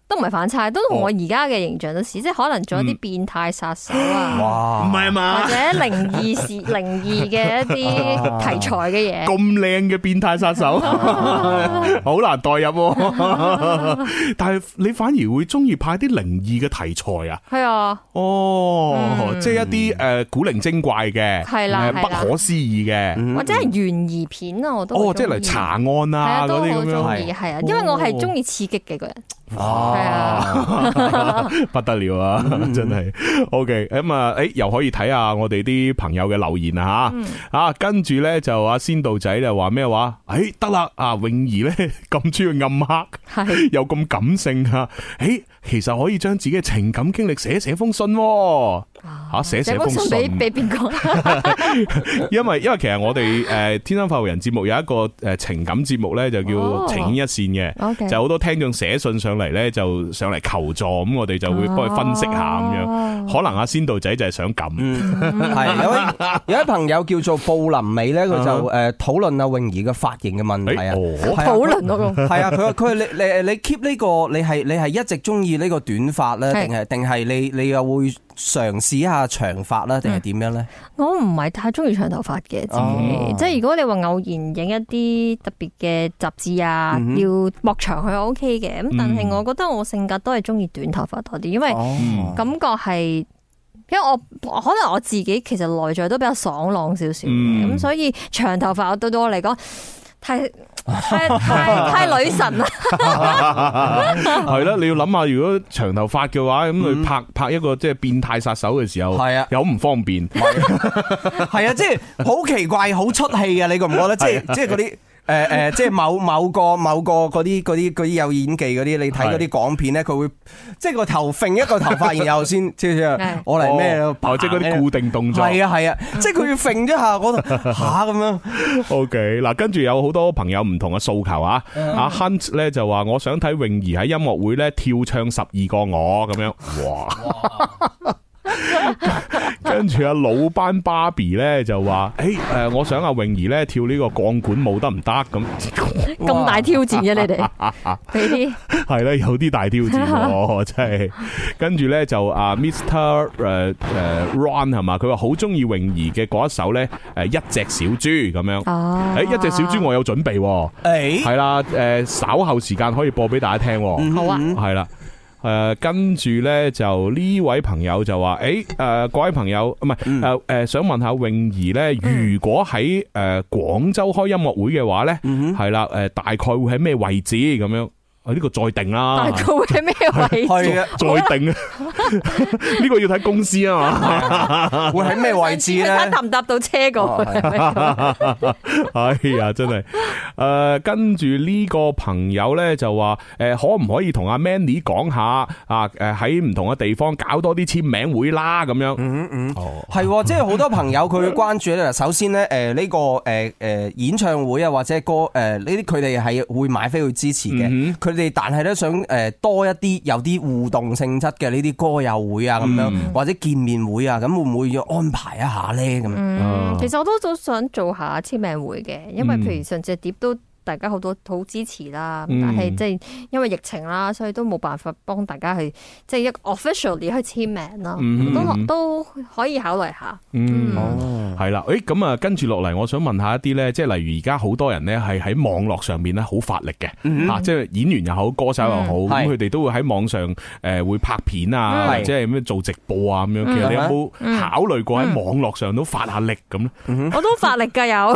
都唔係反差，都同我而家嘅形象都似，即係可能做一啲變態殺手啊， 哇，唔係嘛， 或者靈異事、靈異嘅一啲題材嘅嘢。 咁靚嘅變態殺手，好難代入。但係你反而會中意拍啲靈異嘅題材啊？ 係啊， 哦， 嗯、 即係一啲誒古靈精怪嘅， 係啦， 不可思議嘅， 或者係懸疑片啊，我都哦，即係嚟查案啊嗰啲咁樣， 係係啊，因為我係中意刺激嘅個人。 哦，係啊，不得了啊，真係。OK，咁啊，誒，又可以睇下我哋啲朋友嘅留言啊吓，啊，跟住咧就阿仙道仔就話咩話？誒，得啦，啊，泳兒咧咁中意暗黑，係又咁感性啊，誒，其實可以將自己嘅情感經歷寫寫封信，吓寫寫封信俾俾邊個？ 因為因為其實我哋誒天生發育人節目有一個誒情感節目咧，就叫情牽一線嘅，就好多聽眾寫信上嚟咧，就上嚟求助，咁我哋就會幫佢分析下咁樣。可能阿仙道仔就係想咁， 係有位有位朋友叫做布林美咧，佢就誒討論阿泳兒嘅髮型嘅問題啊， 討論嗰個係啊，佢話佢你你你 keep 呢個你係你係一直中意呢個短髮咧，定係定係你你又會嘗試一下長髮啦，定係點樣咧？ 我唔係太中意長頭髮嘅，自己即係如果你話偶然影一啲特別嘅雜誌啊，嗯、要駁長佢 O K 嘅，咁但係我覺得我性格都係中意短頭髮多啲，因為感覺係，因為我可能我自己其實內在都比較爽朗少少嘅，咁、嗯、所以長頭髮對對我嚟講太。太太太女神啦， 係啦，你要諗下，如果長頭髮嘅話，咁佢拍拍一個即係變態殺手嘅時候，係啊，有唔方便， 係啊，即係好奇怪，好出戲嘅，你覺唔覺得？即係即係嗰啲。誒誒，即係某某個某個嗰啲嗰啲嗰啲有演技嗰啲，你睇嗰啲港片咧，佢會即係個頭揈一個頭髮，然後先，即係我嚟咩咯？ 即係嗰啲固定動作。 係啊係啊，即係佢要揈一下嗰度吓咁樣。 OK，嗱，跟住有好多朋友唔同嘅訴求啊。阿 Hunt 咧就話我想睇泳兒喺音樂會咧跳唱十二個我咁樣。哇！跟住阿老班芭比咧就話，誒，誒，我想阿泳兒咧跳呢個鋼管舞得唔得咁？ 咁大挑戰嘅你哋，俾啲係啦，有啲大挑戰，真係。跟住咧就阿 Mister 誒誒 Ron 係嘛，佢話好中意泳兒嘅嗰一首咧，誒，一隻小豬咁樣。哦，誒，一隻小豬我有準備，誒，係啦，誒，稍後時間可以播俾大家聽。 好啊， 係啦。誒、呃，跟住咧就呢位朋友就話，誒、欸，誒、呃，各位朋友唔係，誒，誒、呃，想問下泳兒咧，如果喺誒廣州開音樂會嘅話咧，係啦、嗯，誒、呃，大概會喺咩位置咁樣？呢、這個再定啦， 大概會喺咩位置？ 係啊，再定啊，呢個要睇公司啊嘛， 會喺咩位置咧？ 搭唔搭到車過去？ 哎呀，真係，誒、呃，跟住呢個朋友咧就話，誒、呃，可唔可以同阿 Mandy 講下啊？誒，喺唔同嘅地方搞多啲簽名會啦，咁樣。嗯嗯，哦， 係，即係好多朋友佢會關注咧。首先咧，誒、呃，呢、這個誒誒、呃、演唱會啊，或者歌誒呢啲，佢哋係會買飛去支持嘅。嗯佢哋但係咧想誒多一啲有啲互動性質嘅呢啲歌友會啊咁樣，嗯、或者見面會啊，咁會唔會要安排一下咧？咁、 嗯，其實我都都想做下簽名會嘅，因為譬如上次碟都。大家好多好支持啦，但係即係因為疫情啦，所以都冇辦法幫大家去即係一個 officially 去簽名啦，嗯、都都可以考慮下。 嗯，哦，係啦，誒咁啊，跟住落嚟，我想問下一啲咧，即係例如而家好多人咧係喺網絡上面咧好發力嘅，嚇、嗯，即係演員又好，歌手又好，咁佢哋都會喺網上誒會拍片啊，或者係咩做直播啊咁樣。其實你有冇考慮過喺網絡上都發下力咁咧？ 我都發力㗎有。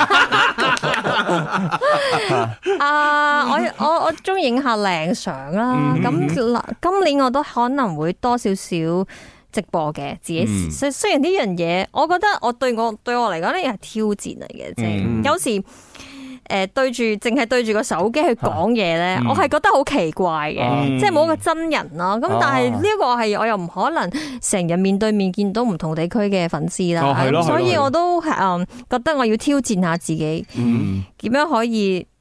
啊！我我我中意影下靚相啦，咁、嗯、今年我都可能會多少少直播嘅自己。雖、嗯、雖然呢樣嘢，我覺得我對我對我嚟講呢係挑戰嚟嘅，即係、嗯、有時誒、呃、對住淨係對住個手機去講嘢咧，嗯、我係覺得好奇怪嘅，嗯、即係冇個真人啦。咁、嗯、但係呢一個係我又唔可能成日面對面見到唔同地區嘅粉絲啦，哦、所以我都誒覺得我要挑戰下自己，點、嗯、樣可以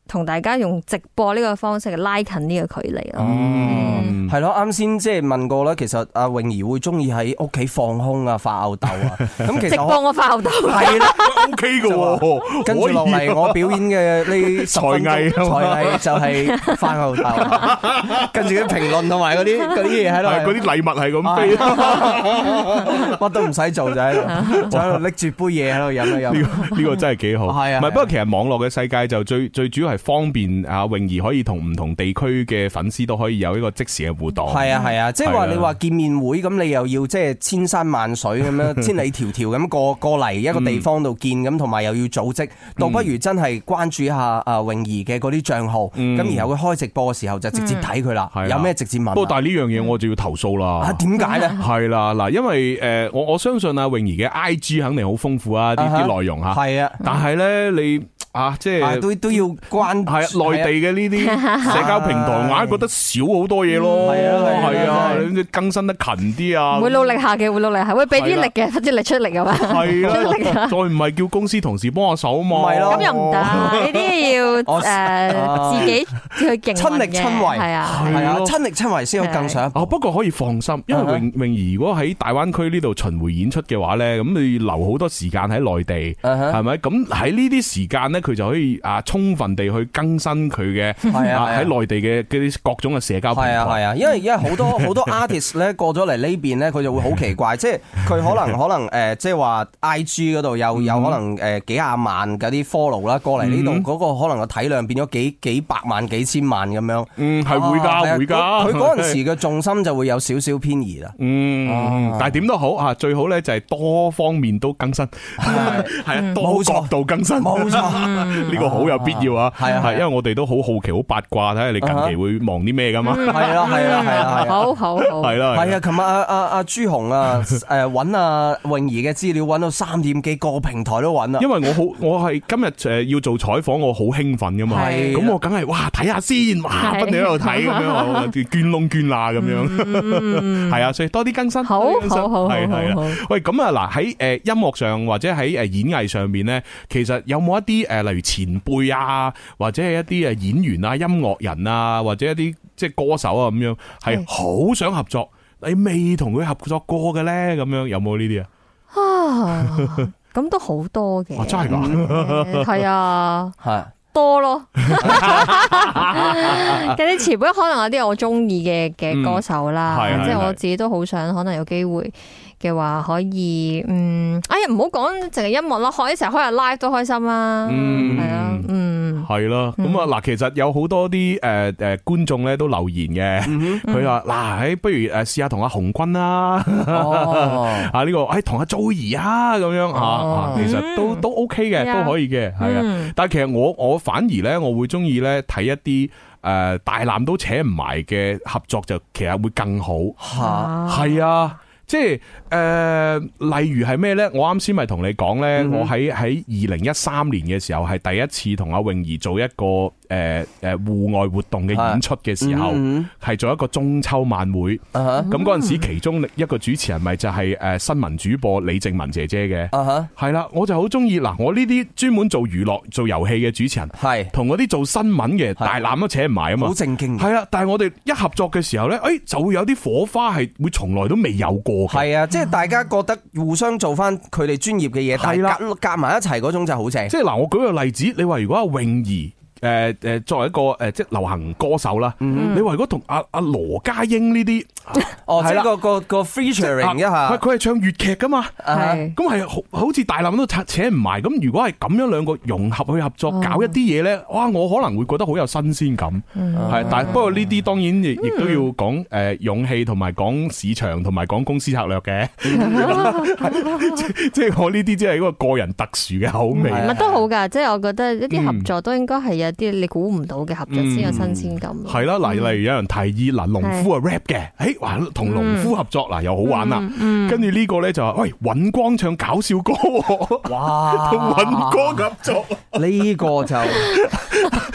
同大家用直播呢個方式拉近呢個距離咯。 嗯，係咯，啱先即係問過啦，其實阿泳兒會中意喺屋企放空啊，發吽豆啊。咁其實直播我發吽豆係啦 ，OK 嘅喎。 跟住落嚟，我表演嘅呢十分鐘才藝才藝就係發吽豆，跟住啲評論同埋嗰啲嗰啲嘢喺度， 嗰啲禮物係咁飛， 乜都唔使做就喺度，就喺度拎住杯嘢喺度飲啊飲。 呢個呢個真係幾好。係啊，唔係不過其實網絡嘅世界就最最主要係方便啊，泳兒可以同唔同地區嘅粉絲都可以有一個即時嘅互動。係啊係啊，即係話你話見面會咁，你又要即係千山萬水咁樣，千里迢迢咁過過嚟一個地方度見咁，同埋又要組織，倒不如真係關注一下啊泳兒嘅嗰啲賬號，咁然後佢開直播嘅時候就直接睇佢啦，有咩直接問。 不過但係呢樣嘢我就要投訴啦。 啊，點解咧？係啦，嗱，因為誒我我相信啊泳兒嘅 I G 肯定好豐富啊，啲啲內容吓。係啊，但係咧你。啊，即係都都要關係內地嘅呢啲社交平台，硬係覺得少好多嘢咯。係啊係啊，你更新得勤啲啊。 會努力下嘅，會努力下，會俾啲力嘅，啲力出嚟嘅嘛。係啊，再唔係叫公司同事幫下手嘛。 係咯，咁又唔得，呢啲要誒自己去競親力親為。係啊係啊，親力親為先有更上一步。 哦，不過可以放心，因為泳泳兒如果喺大灣區呢度巡迴演出嘅話咧，咁你留好多時間喺內地，係咪？咁喺呢啲時間咧。佢就可以啊，充分地去更新佢嘅喺內地嘅啲各種嘅社交平台。係啊係啊，因為因為好多好多 artist 咧過咗嚟呢邊咧，佢就會好奇怪，即係佢可能可能誒，即係話 I G 嗰度有有可能誒幾廿萬嗰啲 follow 啦，過嚟呢度嗰個可能個體量變咗幾幾百萬幾千萬咁樣。嗯，係會㗎會㗎。佢嗰陣時嘅重心就會有少少偏移啦。嗯，但係點都好啊，最好咧就係多方面都更新，係啊，多角度更新，冇錯。呢個好有必要啊！係啊，係，因為我哋都好好奇、好八卦，睇下你近期會忙啲咩噶嘛？係啊，係啊，係啊， 好好好， 係啦， 係啊！琴日阿阿阿朱紅啊，誒揾阿泳兒嘅資料揾到三點幾個平台都揾啦。因為我好，我係今日誒要做採訪，我好興奮噶嘛。咁我梗係哇睇下先，哇不斷喺度睇咁樣，捐窿捐罅咁樣。係啊，所以多啲更新， 好好好， 係係啦。喂，咁啊嗱喺誒音樂上或者喺誒演藝上面咧，其實有冇一啲誒？例如前輩啊，或者係一啲誒演員啊、音樂人啊，或者一啲即係歌手啊咁樣，係好想合作，你未同佢合作過嘅咧，咁樣有冇呢啲啊？啊， 咁都好多嘅， 真係㗎， 係啊， 係多咯。嗰啲前輩可能有啲我中意嘅嘅歌手啦，嗯、即係我自己都好想可能有機會嘅話可以，嗯，哎呀唔好講淨係音樂啦，開一齊開下 live 都開心啦，係啊，嗯， 係咯，咁啊嗱，其實有好多啲誒誒觀眾咧都留言嘅，佢話嗱，誒不如誒試下同阿洪君啦，啊呢個誒同阿 Joey 啊咁樣啊，其實都都 OK 嘅，都可以嘅，係啊，但係其實我我反而咧我會中意咧睇一啲誒大纜都扯唔埋嘅合作，就其實會更好，係啊。即係誒、呃，例如係咩咧？我啱先咪同你講咧，嗯、哼我喺喺二零一三年嘅時候係第一次同阿泳兒做一個誒誒戶外活動嘅演出嘅時候，係、嗯、哼做一個中秋晚會。咁嗰陣時，其中一個主持人咪就係誒新聞主播李靜文姐姐嘅。係啦、uh huh.，我就好中意嗱，我呢啲專門做娛樂、做遊戲嘅主持人，係同嗰啲做新聞嘅大纜都扯唔埋啊嘛。好正經。係啦，但係我哋一合作嘅時候咧，誒就會有啲火花係會從來都未有過。係啊，即係大家覺得互相做翻佢哋專業嘅嘢，但係夾夾埋一齊嗰種就好正。即係嗱，我舉個例子，你話如果阿泳兒誒誒作為一個誒即係流行歌手啦，你話如果同阿阿羅家英呢啲，哦，即係個個個 featuring 一下，佢係唱粵劇噶嘛，咁係好好似大纜都扯扯唔埋。咁如果係咁樣兩個融合去合作搞一啲嘢咧，哇，我可能會覺得好有新鮮感。係，但係不過呢啲當然亦亦都要講誒勇氣同埋講市場同埋講公司策略嘅。即係我呢啲即係一個個人特殊嘅口味。 乜都好噶，即係我覺得一啲合作都應該係有啲你估唔到嘅合作先有新鮮感。 係啦，嗱，例如有人提議嗱，農夫啊 rap 嘅，誒，哇，同農夫合作嗱又好玩啦。跟住呢個咧就話，喂，尹光唱搞笑歌，哇，同尹光合作， 呢個就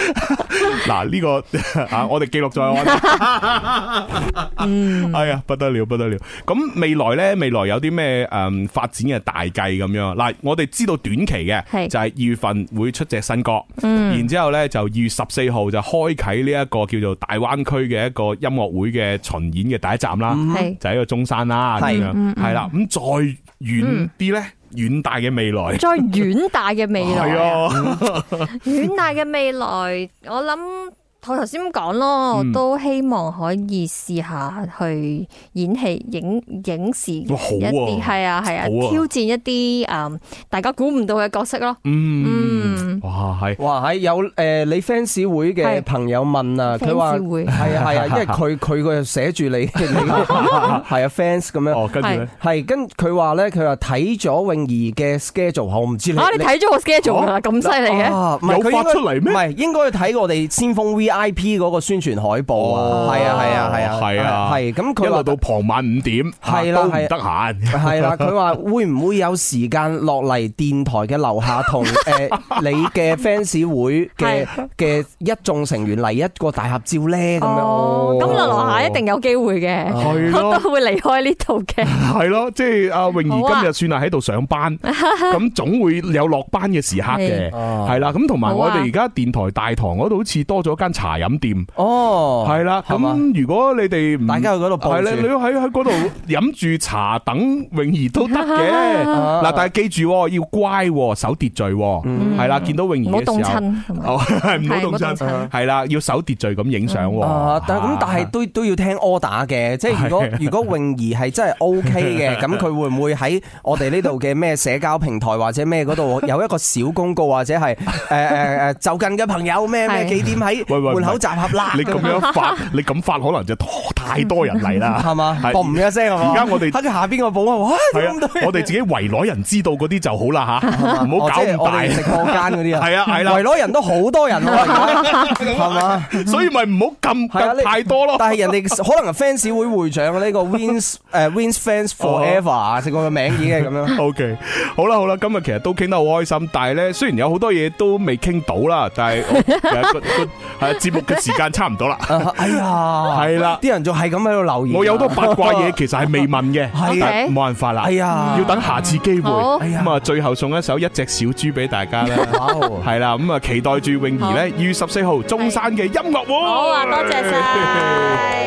嗱呢個啊，我哋記錄在案。嗯，哎呀，不得了，不得了。咁未來咧，未來有啲咩誒發展嘅大計咁樣？嗱，我哋知道短期嘅就係二月份會出隻新歌，嗯，然之後咧就二月十四號就開啟呢一個叫做大灣區嘅一個音樂會嘅巡演嘅第一站啦，嗯、就喺個中山啦，咁樣係啦。咁再遠啲咧？遠大嘅未來，再遠大嘅未來， 係啊， 遠大嘅未來，我諗。我頭先咁講咯，我都希望可以試下去演戲、影影視一啲，係啊係啊，挑戰一啲誒大家估唔到嘅角色咯。嗯，哇係，哇係有誒你 fans 會嘅朋友問啊，佢話係啊係啊，因為佢佢個寫住你，係啊 fans 咁樣。哦，跟住咧係跟佢話咧，佢話睇咗泳兒嘅 schedule， 我唔知你啊你睇咗個 schedule 啊，咁犀利嘅， 有發出嚟咩？ 唔係應該睇我哋先鋒 V I P 嗰個宣傳海報啊，係啊係啊係啊係啊，係咁佢話到傍晚五點，係啦都唔得閒，係啦佢話會唔會有時間落嚟電台嘅樓下同誒你嘅 fans 會嘅嘅一眾成員嚟一個大合照咧咁樣？哦，咁落樓下一定有機會嘅，我都會離開呢度嘅。係咯，即係阿泳兒今日算係喺度上班，咁總會有落班嘅時刻嘅，係啦。咁同埋我哋而家電台大堂嗰度好似多咗間茶飲店哦，係啦，咁如果你哋大家去嗰度，係咧，你喺喺嗰度飲住茶等泳兒都得嘅。嗱，但係記住要乖，守秩序，係啦，見到泳兒嘅時候，唔好凍親，係唔好凍親，係啦，要守秩序咁影相。但係咁，但係都都要聽 order 嘅，即係如果如果泳兒係真係 OK 嘅，咁佢會唔會喺我哋呢度嘅咩社交平台或者咩嗰度有一個小公告，或者係誒誒誒就近嘅朋友咩咩幾點喺門口集合啦？你咁樣發，你咁發可能就太多人嚟啦，係嘛？嘣一聲係嘛？而家我哋喺下邊個保安，哇！我哋自己圍內人知道嗰啲就好啦吓，唔好搞咁大。直播間嗰啲啊，係啊係啦，圍內人都好多人喎，係嘛？所以咪唔好咁太多咯。但係人哋可能 fans 會會長呢個 Wins 誒 Wins Fans Forever 啊，成個名已經係咁樣。OK， 好啦好啦，今日其實都傾得好開心，但係咧雖然有好多嘢都未傾到啦，但係其實個係節目嘅時間差唔多啦。哎呀，係啦，啲人仲係咁喺度留言。我有好多八卦嘢其實係未問嘅，係冇辦法啦。哎呀，要等下次機會。咁啊，最後送一首一隻小豬俾大家啦。係啦，咁啊，期待住泳兒咧二月十四號中山嘅音樂會。好啊，多謝晒。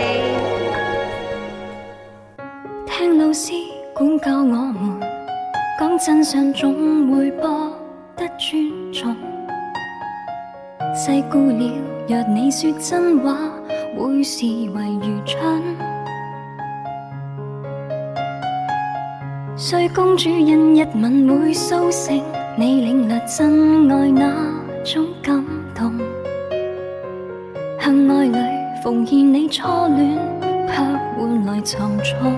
聽老師管教我們，講真相總會博得尊重。細估了，若你說真話，會視為愚蠢。睡公主因一吻會甦醒，你領略真愛那種感動。恨愛裏奉獻你初戀，卻換來沉重。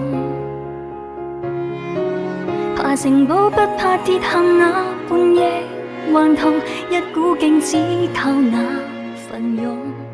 爬城堡不怕跌陷那半夜，還同一股勁只靠那份勇。